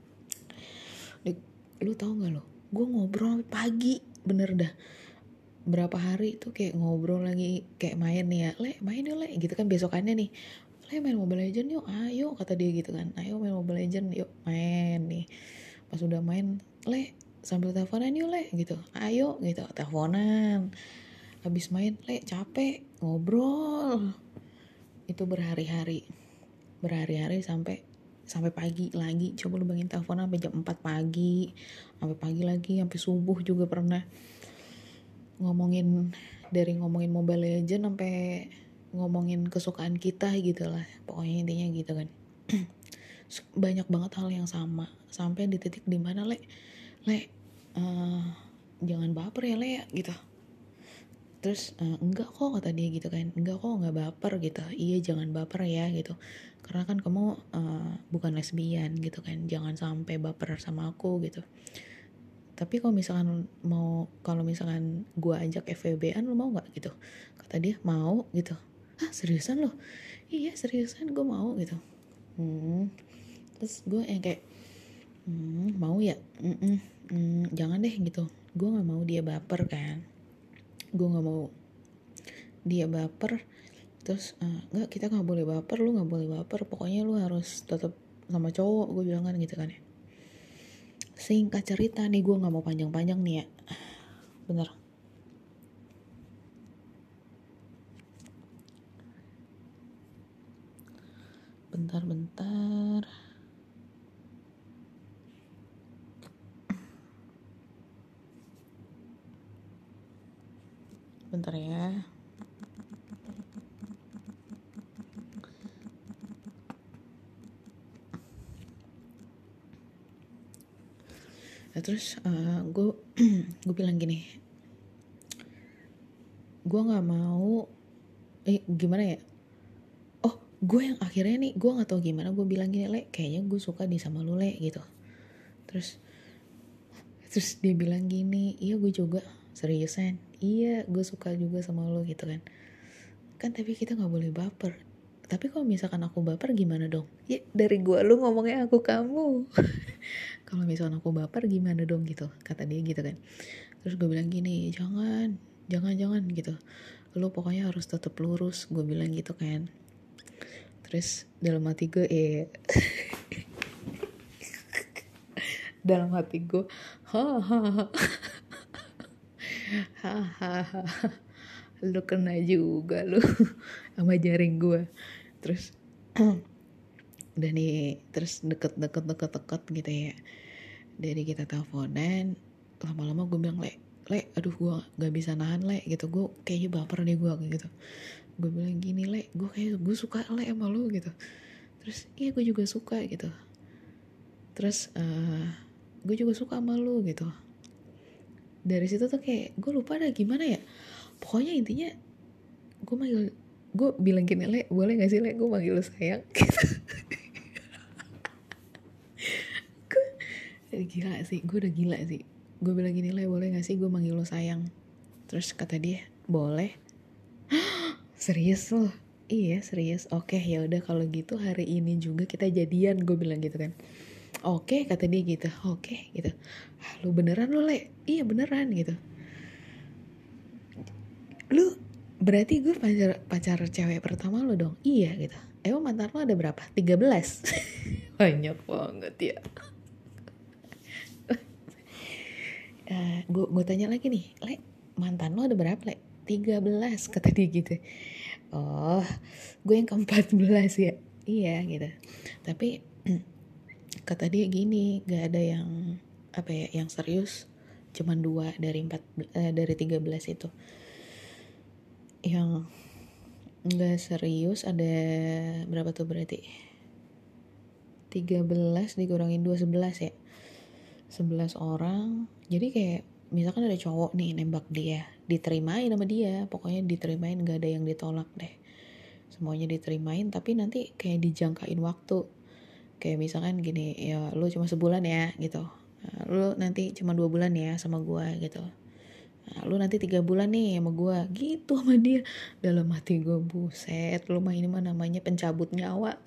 [SPEAKER 1] Lu tau nggak lo, gue ngobrol pagi bener dah berapa hari tuh kayak ngobrol lagi, kayak main nih ya, Le main yuk Le gitu kan, besokannya nih, Le main Mobile Legends yuk, ayo kata dia gitu kan, ayo main Mobile Legends yuk, main nih. Pas udah main, Le sambil teleponan yuk Le gitu, ayo gitu, teleponan. Habis main, Le capek, ngobrol. Itu berhari-hari, berhari-hari sampai sampai pagi lagi. Coba lu bayangin, telepon sampai jam empat pagi, sampai pagi lagi, sampai subuh juga pernah. Ngomongin, dari ngomongin Mobile Legends sampai ngomongin kesukaan kita gitu lah. Pokoknya intinya gitu kan. Banyak banget hal yang sama, sampai di titik dimana Le, Le uh, jangan baper ya Le ya gitu. Terus uh, enggak kok kata dia gitu kan, enggak kok nggak baper gitu. Iya jangan baper ya gitu, karena kan kamu uh, bukan lesbian gitu kan, jangan sampai baper sama aku gitu. Tapi kalau misalkan mau, kalau misalkan gue ajak F W B-an lo mau nggak gitu? Kata dia mau gitu. Ah seriusan lo? Iya seriusan gue mau gitu. Hmm. Terus gue yang kayak hmm, mau ya? Mm-mm. Hmm, jangan deh gitu. Gue nggak mau dia baper kan. Gue nggak mau dia baper. Terus uh, nggak, kita nggak boleh baper, lu nggak boleh baper. Pokoknya lu harus tetap sama cowok, gue bilang kan gitu kan ya. Singkat cerita nih, gue nggak mau panjang-panjang nih ya. Bener. Bentar-bentar. Bentar ya. Nah, terus uh, gue gue bilang gini, gue nggak mau, eh gimana ya? Oh, gue yang akhirnya nih, gue nggak tahu gimana, gue bilang gini, Le, kayaknya gue suka di sama lu Le gitu. Terus terus dia bilang gini, iya gue juga, seriusan, iya gue suka juga sama lu gitu kan. Kan tapi kita nggak boleh baper. Tapi kalau misalkan aku baper gimana dong? Ya dari gue lu ngomongnya aku kamu. Kalau misalkan aku baper gimana dong gitu, kata dia gitu kan. Terus gue bilang gini, jangan, jangan jangan gitu. Lu pokoknya harus tetap lurus, gue bilang gitu kan. Terus dalam hati gue eh dalam hati gue hahaha hahaha lu kena juga lu sama jaring gue. Terus udah nih, terus deket-deket deket-deket gitu ya, dari kita teleponan, lama-lama gue bilang, Le, Le, aduh gue gak bisa nahan Le gitu, gue kayaknya baper deh gue gitu. gue bilang gini, Le, gue kayak gue suka Le sama lu gitu. Terus iya gue juga suka gitu. Terus uh, gue juga suka sama lu gitu. Dari situ tuh kayak gue lupa dah gimana ya, pokoknya intinya gue manggil, gue bilang gini, Le, boleh gak sih Le gue manggil lu sayang gitu. Gue gila sih, gue udah gila sih. Gue bilang gini, Le, boleh gak sih gue manggil lu sayang. Terus kata dia, boleh. Serius loh? Iya serius. Oke ya udah kalau gitu hari ini juga kita jadian, gue bilang gitu kan. Oke kata dia gitu. Oke gitu. Ah, lu beneran lu, Le? Iya beneran gitu. Lu berarti gue pacar pacar cewek pertama lu dong? Iya gitu. Emang mantan lu ada berapa? tiga belas. Banyak banget ya. uh, gue gue tanya lagi nih, Le, mantan lu ada berapa, Le? tiga belas kata dia gitu. Oh, gue yang keempat belas ya. Iya gitu. Tapi kata dia gini, gak ada yang apa ya, yang serius. Cuman dua dari empat eh, dari tiga belas itu. Yang gak serius ada berapa tuh berarti? tiga belas dikurangin dua, sebelas ya. sebelas orang. Jadi kayak misalkan ada cowok nih nembak dia, diterimain sama dia. Pokoknya diterimain, gak ada yang ditolak deh. Semuanya diterimain, tapi nanti kayak dijangkain waktu. Kayak misalkan gini, ya lu cuma sebulan ya gitu. Nah, lu nanti cuma dua bulan ya sama gue gitu. Nah, lu nanti tiga bulan nih sama gue gitu sama dia. Dalam hati gue, buset, lu mah ini mah namanya pencabut nyawa.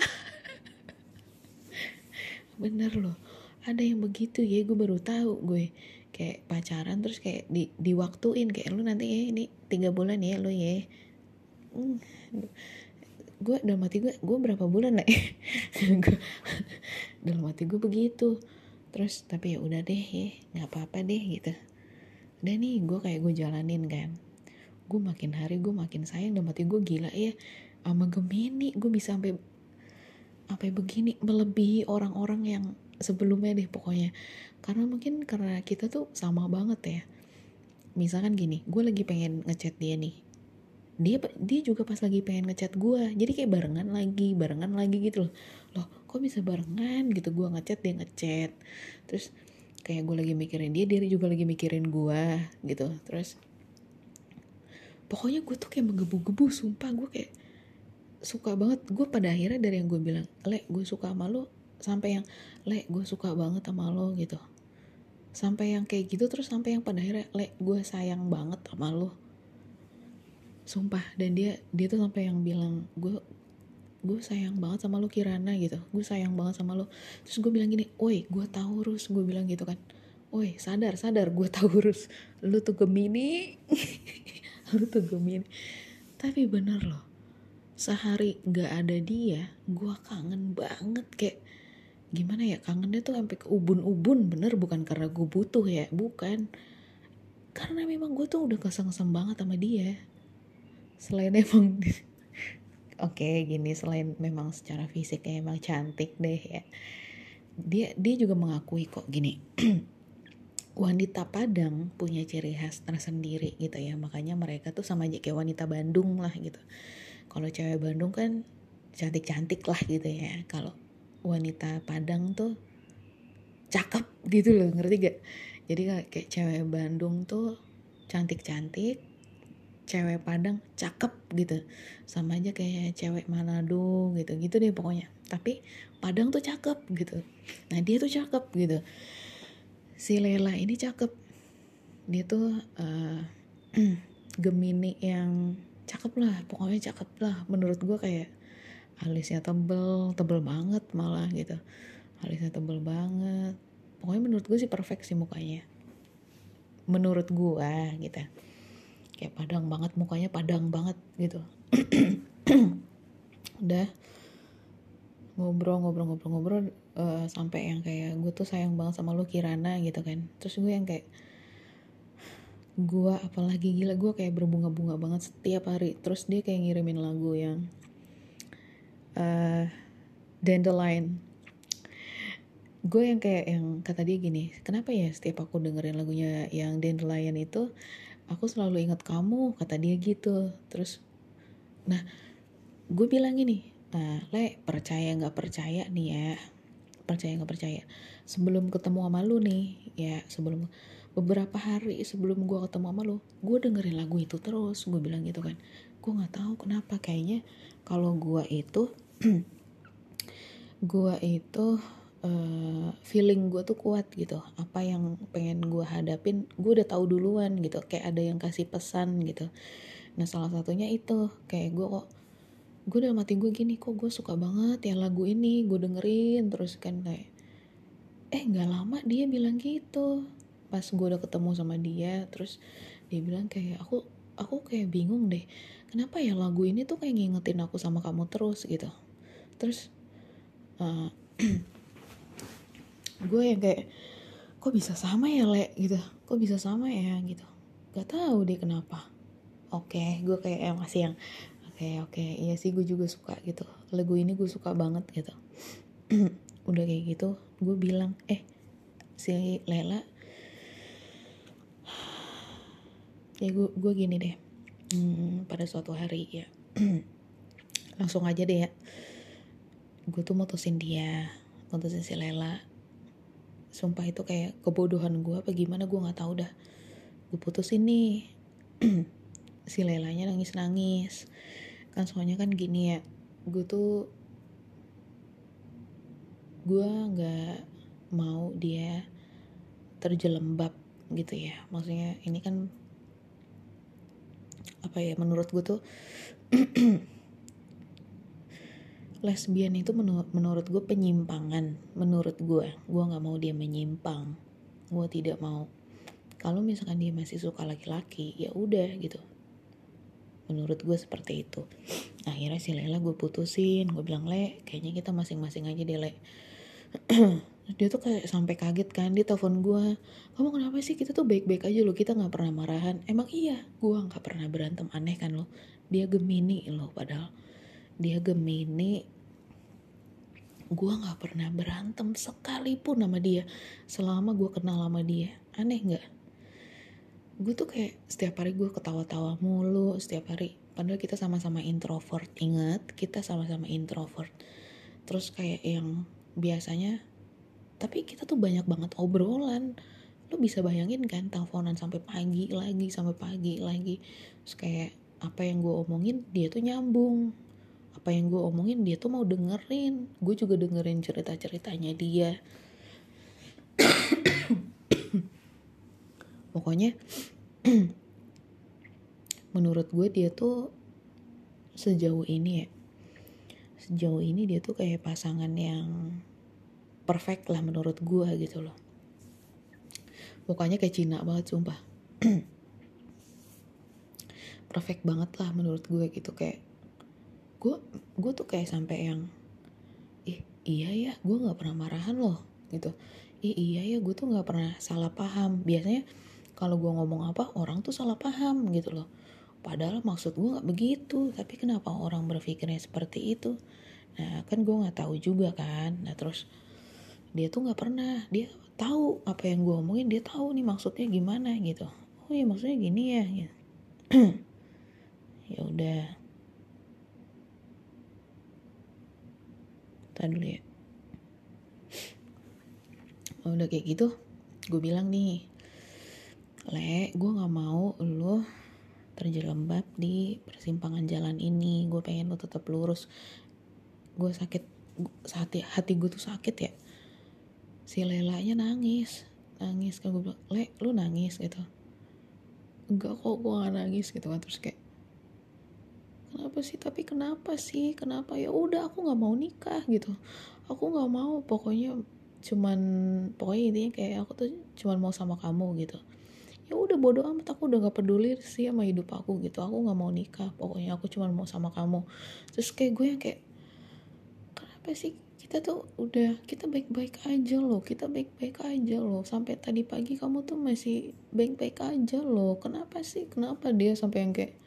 [SPEAKER 1] Bener loh, ada yang begitu ya, gue baru tahu. Gue kayak pacaran terus kayak di diwaktuin, kayak lu nanti ya ini tiga bulan ya lu ya. Hmm. Gue dalam hati gue, gue berapa bulan lah ya. Dalam hati gue begitu. Terus tapi ya udah deh ya, nggak apa-apa deh gitu. Udah nih gue kayak gue jalanin kan. Gue makin hari gue makin sayang, dalam hati gue gila ya. Sama Gemini gue bisa sampai sampai begini, melebihi orang-orang yang sebelumnya deh pokoknya. Karena mungkin karena kita tuh sama banget ya. Misalkan gini, gue lagi pengen ngechat dia nih, dia dia juga pas lagi pengen ngechat gue, jadi kayak barengan lagi barengan lagi gitu loh. Loh kok bisa barengan gitu, gue ngechat dia ngechat. Terus kayak gue lagi mikirin dia, dia juga lagi mikirin gue gitu. Terus pokoknya gue tuh kayak menggebu-gebu, sumpah gue kayak suka banget. Gue pada akhirnya dari yang gue bilang, Le gue suka sama lo, sampai yang Le gue suka banget sama lo gitu, sampai yang kayak gitu. Terus sampai yang pada akhirnya, Le gue sayang banget sama lo, sumpah. Dan dia dia tuh sampai yang bilang, gue gue sayang banget sama lo Kirana gitu, gue sayang banget sama lo. Terus gue bilang gini, oi gue Taurus, gue bilang gitu kan, oi sadar sadar gue Taurus, lu tuh Gemini. Lu tuh Gemini. Tapi bener loh, sehari gak ada dia, gue kangen banget. Kayak gimana ya, kangennya tuh sampai ke ubun-ubun. Bener, bukan karena gue butuh ya, bukan, karena memang gue tuh udah keseng-keseng banget sama dia. Selain emang oke okay, gini, selain memang secara fisiknya emang cantik deh ya, dia dia juga mengakui kok gini. Wanita Padang punya ciri khas tersendiri gitu ya, makanya mereka tuh sama aja kayak wanita Bandung lah gitu. Kalau cewek Bandung kan cantik-cantik lah gitu ya, kalau wanita Padang tuh cakep gitu loh, ngerti gak? Jadi kayak cewek Bandung tuh cantik-cantik, cewek Padang cakep gitu. Sama aja kayak cewek Manado gitu, gitu deh pokoknya. Tapi Padang tuh cakep gitu. Nah dia tuh cakep gitu. Si Lela ini cakep. Dia tuh uh, Gemini yang cakep lah, pokoknya cakep lah. Menurut gue kayak alisnya tebel, tebel banget malah gitu. Alisnya tebel banget. Pokoknya menurut gue sih perfect sih mukanya. Menurut gue gitu. Kayak Padang banget, mukanya Padang banget gitu. Udah ngobrol-ngobrol-ngobrol-ngobrol uh, sampai yang kayak gue tuh sayang banget sama lu Kirana gitu kan. Terus gue yang kayak, gue apalagi gila, gue kayak berbunga-bunga banget setiap hari. Terus dia kayak ngirimin lagu yang uh, Dandelion. Gue yang kayak yang kata dia gini, kenapa ya setiap aku dengerin lagunya yang Dandelion itu aku selalu ingat kamu, kata dia gitu. Terus Nah gue bilang gini, nah Le percaya nggak percaya nih ya, percaya nggak percaya, sebelum ketemu sama lu nih ya, sebelum beberapa hari sebelum gue ketemu sama lu, gue dengerin lagu itu terus. Gue bilang gitu kan, gue nggak tahu kenapa, kayaknya kalau gue itu gue itu uh, feeling gue tuh kuat gitu, apa yang pengen gue hadapin gue udah tahu duluan gitu, kayak ada yang kasih pesan gitu. Nah salah satunya itu kayak gue kok, gue dalam hati gue gini, kok gue suka banget ya lagu ini, gue dengerin terus kan, kayak eh nggak lama dia bilang gitu. Pas gue udah ketemu sama dia, terus dia bilang kayak, aku aku kayak bingung deh, kenapa ya lagu ini tuh kayak ngingetin aku sama kamu terus gitu. Terus uh, gue yang kayak, kok bisa sama ya Le gitu, kok bisa sama ya gitu, gak tahu deh kenapa. Oke gue kayak eh, masih yang oke oke iya sih, gue juga suka gitu, lagu ini gue suka banget gitu. Udah kayak gitu gue bilang, eh si Lela, ya gue gue gini deh, hmm, pada suatu hari ya langsung aja deh ya, gue tuh mutusin dia, mutusin si Lela. Sumpah itu kayak kebodohan gue apa gimana, gue nggak tahu dah. Gue putusin nih. Si Lelanya nangis-nangis. Kan soalnya kan gini ya, gue tuh gue nggak mau dia terjelembab gitu ya. Maksudnya ini kan apa ya, menurut gue tuh lesbian itu menur- menurut gue penyimpangan. Menurut gue, gue nggak mau dia menyimpang. Gue tidak mau. Kalau misalkan dia masih suka laki-laki, ya udah gitu. Menurut gue seperti itu. Akhirnya si Lela gue putusin. Gue bilang, Le, kayaknya kita masing-masing aja deh, Le. Dia tuh kayak sampai kaget kan, dia telepon gue, kamu kenapa sih, kita tuh baik-baik aja loh, kita nggak pernah marahan. Emang iya, gue nggak pernah berantem, aneh kan lo. Dia Gemini loh, padahal dia Gemini, gue nggak pernah berantem sekalipun sama dia selama gue kenal sama dia. Aneh nggak? Gue tuh kayak setiap hari gue ketawa-tawa mulu setiap hari, padahal kita sama-sama introvert. Ingat, kita sama-sama introvert. Terus kayak yang biasanya, tapi kita tuh banyak banget obrolan. Lo bisa bayangin kan, teleponan sampai pagi lagi, sampai pagi lagi. Terus kayak apa yang gue omongin dia tuh nyambung, apa yang gue omongin dia tuh mau dengerin. Gue juga dengerin cerita-ceritanya dia. Pokoknya menurut gue dia tuh sejauh ini ya, sejauh ini dia tuh kayak pasangan yang perfect lah menurut gue gitu loh. Pokoknya kayak Cina banget sumpah. Perfect banget lah menurut gue gitu. Kayak gue gue tuh kayak sampai yang, ih iya ya gue nggak pernah marahan loh gitu. Ih iya ya gue tuh nggak pernah salah paham. Biasanya kalau gue ngomong apa orang tuh salah paham gitu loh, padahal maksud gue nggak begitu, tapi kenapa orang berpikirnya seperti itu. Nah kan gue nggak tahu juga kan. Nah terus dia tuh nggak pernah, dia tahu apa yang gue omongin, dia tahu nih maksudnya gimana gitu. Oh ya maksudnya gini ya gitu. Ya udah, tadi dulu ya. Oh, udah kayak gitu gue bilang nih, Le, gue nggak mau lo terjerembab di persimpangan jalan ini. Gue pengen lo tetap lurus. Gue sakit, hati hati gue tuh sakit ya. Si Lelanya nangis, nangis kan. Gue bilang, Le, lu nangis gitu. Enggak kok, gue gak nangis gitu kan. Terus kayak, kenapa sih, tapi kenapa sih, kenapa? Ya udah aku nggak mau nikah gitu, aku nggak mau, pokoknya cuman pokoknya intinya kayak aku tuh cuman mau sama kamu gitu. Ya udah bodo amat, aku udah gak peduli sih sama hidup aku gitu, aku nggak mau nikah, pokoknya aku cuman mau sama kamu. Terus kayak gue yang kayak, kenapa sih, kita tuh udah, kita baik-baik aja loh, kita baik-baik aja loh, sampai tadi pagi kamu tuh masih baik-baik aja loh, kenapa sih, kenapa dia sampai yang kayak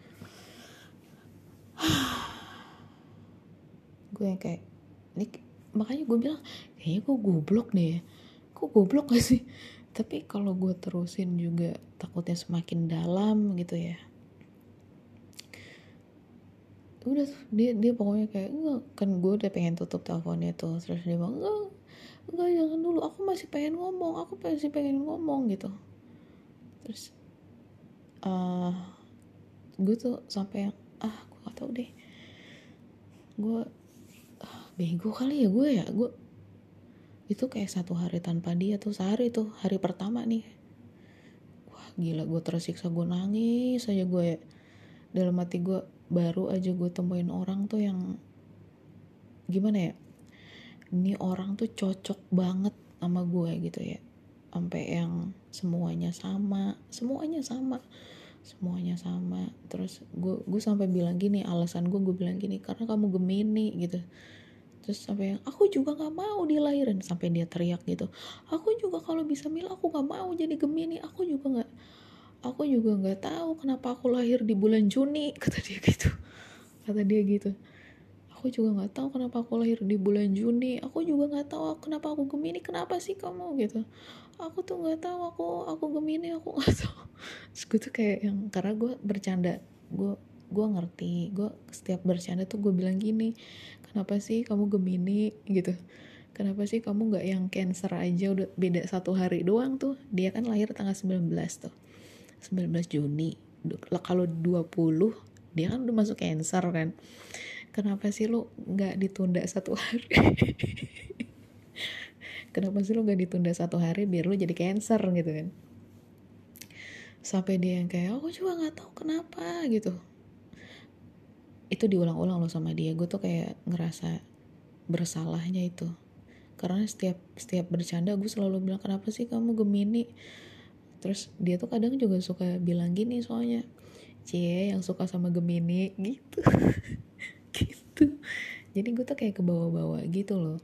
[SPEAKER 1] gue yang kayak ini. Makanya gue bilang kayaknya gue goblok deh, kok goblok gak sih, tapi kalau gue terusin juga takutnya semakin dalam gitu ya. udah tuh, dia dia pokoknya kayak enggak, kan gue udah pengen tutup teleponnya tuh, terus dia bilang enggak enggak jangan dulu, aku masih pengen ngomong aku masih pengen ngomong gitu. Terus uh, gue tuh sampai yang ah gue gak tau deh, gue ah, bego kali ya gue ya gue itu kayak satu hari tanpa dia tuh, sehari tuh hari pertama nih, wah gila gue tersiksa, gue nangis aja gue ya. Dalam hati gue, baru aja gue temuin orang tuh yang gimana ya, ini orang tuh cocok banget sama gue gitu ya, sampai yang semuanya sama semuanya sama semuanya sama. Terus gue gue sampai bilang gini, alasan gue gue bilang gini karena kamu Gemini gitu. Terus sampai yang aku juga nggak mau dilahirin, sampai dia teriak gitu, aku juga kalau bisa milih aku nggak mau jadi Gemini, aku juga nggak aku juga nggak tahu kenapa aku lahir di bulan Juni, kata dia gitu kata dia gitu aku juga nggak tahu kenapa aku lahir di bulan Juni, aku juga nggak tahu kenapa aku Gemini, kenapa sih kamu gitu, aku tuh nggak tahu, aku aku Gemini, aku nggak tahu. Terus gue tuh kayak yang, karena gue bercanda, gue gue ngerti, gue setiap bercanda tuh gue bilang gini, kenapa sih kamu Gemini gitu, kenapa sih kamu nggak yang Cancer aja, udah beda satu hari doang tuh, dia kan lahir tanggal sembilan belas tuh, sembilan belas Juni, kalau dua puluh dia kan udah masuk Cancer kan, kenapa sih lu nggak ditunda satu hari? Kenapa sih lu nggak ditunda satu hari biar lu jadi Cancer gitu kan? Sampai dia yang kayak aku juga nggak tahu kenapa gitu. Itu diulang-ulang loh sama dia, gue tuh kayak ngerasa bersalahnya itu, karena setiap setiap bercanda gue selalu bilang kenapa sih kamu Gemini. Terus dia tuh kadang juga suka bilang gini, soalnya cie yang suka sama Gemini gitu. Gitu. Jadi gue tuh kayak ke bawah-bawah gitu loh.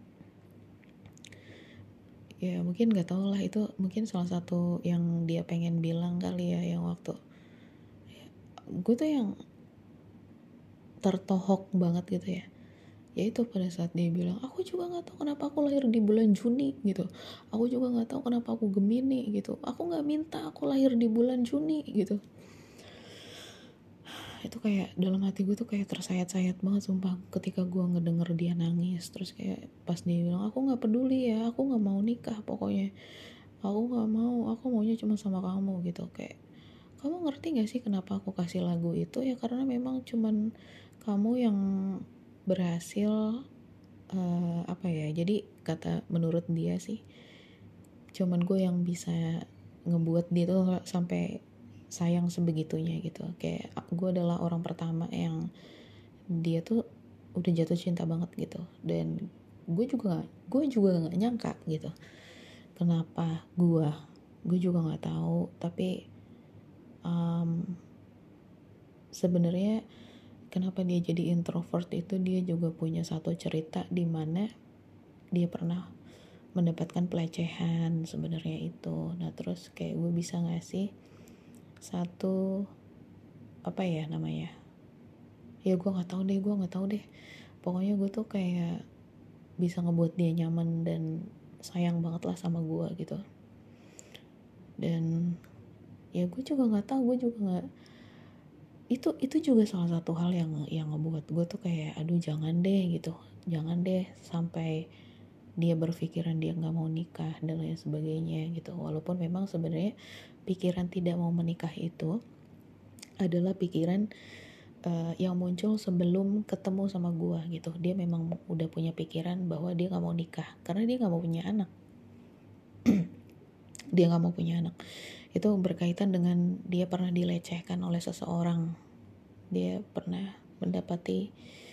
[SPEAKER 1] Ya mungkin nggak tau lah, itu mungkin salah satu yang dia pengen bilang kali ya, yang waktu gue tuh yang tertohok banget gitu ya, yaitu pada saat dia bilang aku juga nggak tahu kenapa aku lahir di bulan Juni gitu, aku juga nggak tahu kenapa aku Gemini gitu, aku nggak minta aku lahir di bulan Juni gitu. Itu kayak dalam hati gue tuh kayak tersayat-sayat banget sumpah ketika gue ngedenger dia nangis. Terus kayak pas dia bilang aku nggak peduli ya, aku nggak mau nikah pokoknya, aku nggak mau, aku maunya cuma sama kamu gitu. Kayak kamu ngerti gak sih kenapa aku kasih lagu itu? Ya karena memang cuman kamu yang berhasil uh, apa ya, jadi kata menurut dia sih cuman gue yang bisa ngebuat dia tuh sampai sayang sebegitunya gitu. Kayak gue adalah orang pertama yang dia tuh udah jatuh cinta banget gitu, dan gue juga gak, gue juga nggak nyangka gitu kenapa gue gue juga nggak tahu. Tapi um, sebenarnya kenapa dia jadi introvert itu, dia juga punya satu cerita di mana dia pernah mendapatkan pelecehan sebenarnya itu. Nah terus kayak gue bisa ngasih satu apa ya namanya, ya gue nggak tahu deh gue nggak tahu deh pokoknya gue tuh kayak bisa ngebuat dia nyaman dan sayang banget lah sama gue gitu. Dan ya gue juga nggak tahu, gue juga nggak, itu itu juga salah satu hal yang yang ngebuat gue tuh kayak aduh jangan deh gitu, jangan deh sampai dia berpikiran dia nggak mau nikah dan lain sebagainya gitu. Walaupun memang sebenarnya pikiran tidak mau menikah itu adalah pikiran uh, yang muncul sebelum ketemu sama gue gitu. Dia memang udah punya pikiran bahwa dia nggak mau nikah karena dia nggak mau punya anak. Dia nggak mau punya anak itu berkaitan dengan dia pernah dilecehkan oleh seseorang. Dia pernah mendapati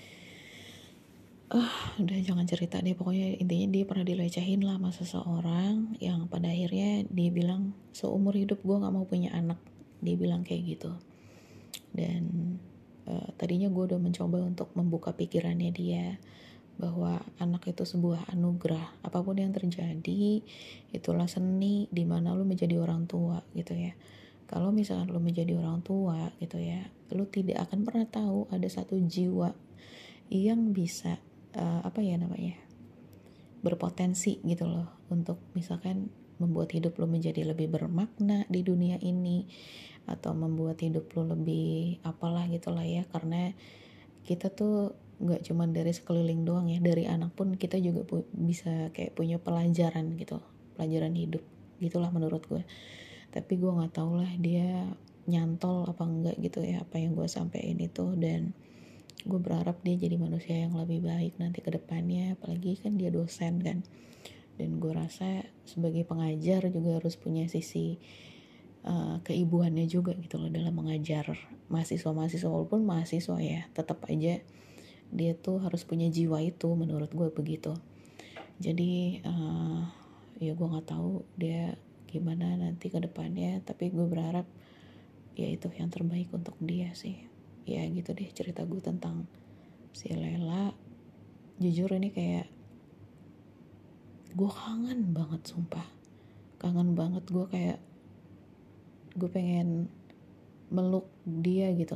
[SPEAKER 1] ah uh, udah jangan cerita deh, pokoknya intinya dia pernah dilecehin lah sama seseorang yang pada akhirnya dia bilang seumur hidup gue nggak mau punya anak, dia bilang kayak gitu. Dan uh, tadinya gue udah mencoba untuk membuka pikirannya dia bahwa anak itu sebuah anugerah, apapun yang terjadi itulah seni di mana lu menjadi orang tua gitu ya. Kalau misalkan lu menjadi orang tua gitu ya, lu tidak akan pernah tahu ada satu jiwa yang bisa uh, apa ya namanya, berpotensi gitu loh untuk misalkan membuat hidup lo menjadi lebih bermakna di dunia ini, atau membuat hidup lo lebih apalah gitulah ya. Karena kita tuh nggak cuman dari sekeliling doang ya, dari anak pun kita juga pu- bisa kayak punya pelajaran gitu, pelajaran hidup gitulah menurut gue. Tapi gue nggak tahu lah dia nyantol apa enggak gitu ya apa yang gue sampein itu, dan gue berharap dia jadi manusia yang lebih baik nanti ke depannya, apalagi kan dia dosen kan. Dan gue rasa sebagai pengajar juga harus punya sisi uh, keibuannya juga gitu loh dalam mengajar mahasiswa-mahasiswa, walaupun mahasiswa ya tetap aja dia tuh harus punya jiwa itu, menurut gue begitu. Jadi uh, ya gue nggak tahu dia gimana nanti ke depannya, tapi gue berharap ya itu yang terbaik untuk dia sih. Ya gitu deh cerita gue tentang si Lela. Jujur ini kayak gue kangen banget, sumpah kangen banget. Gue kayak gue pengen meluk dia gitu.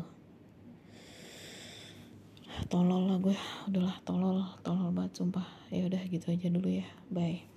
[SPEAKER 1] Tolol lah gue, udahlah tolol tolol banget sumpah. Ya udah gitu aja dulu ya, bye.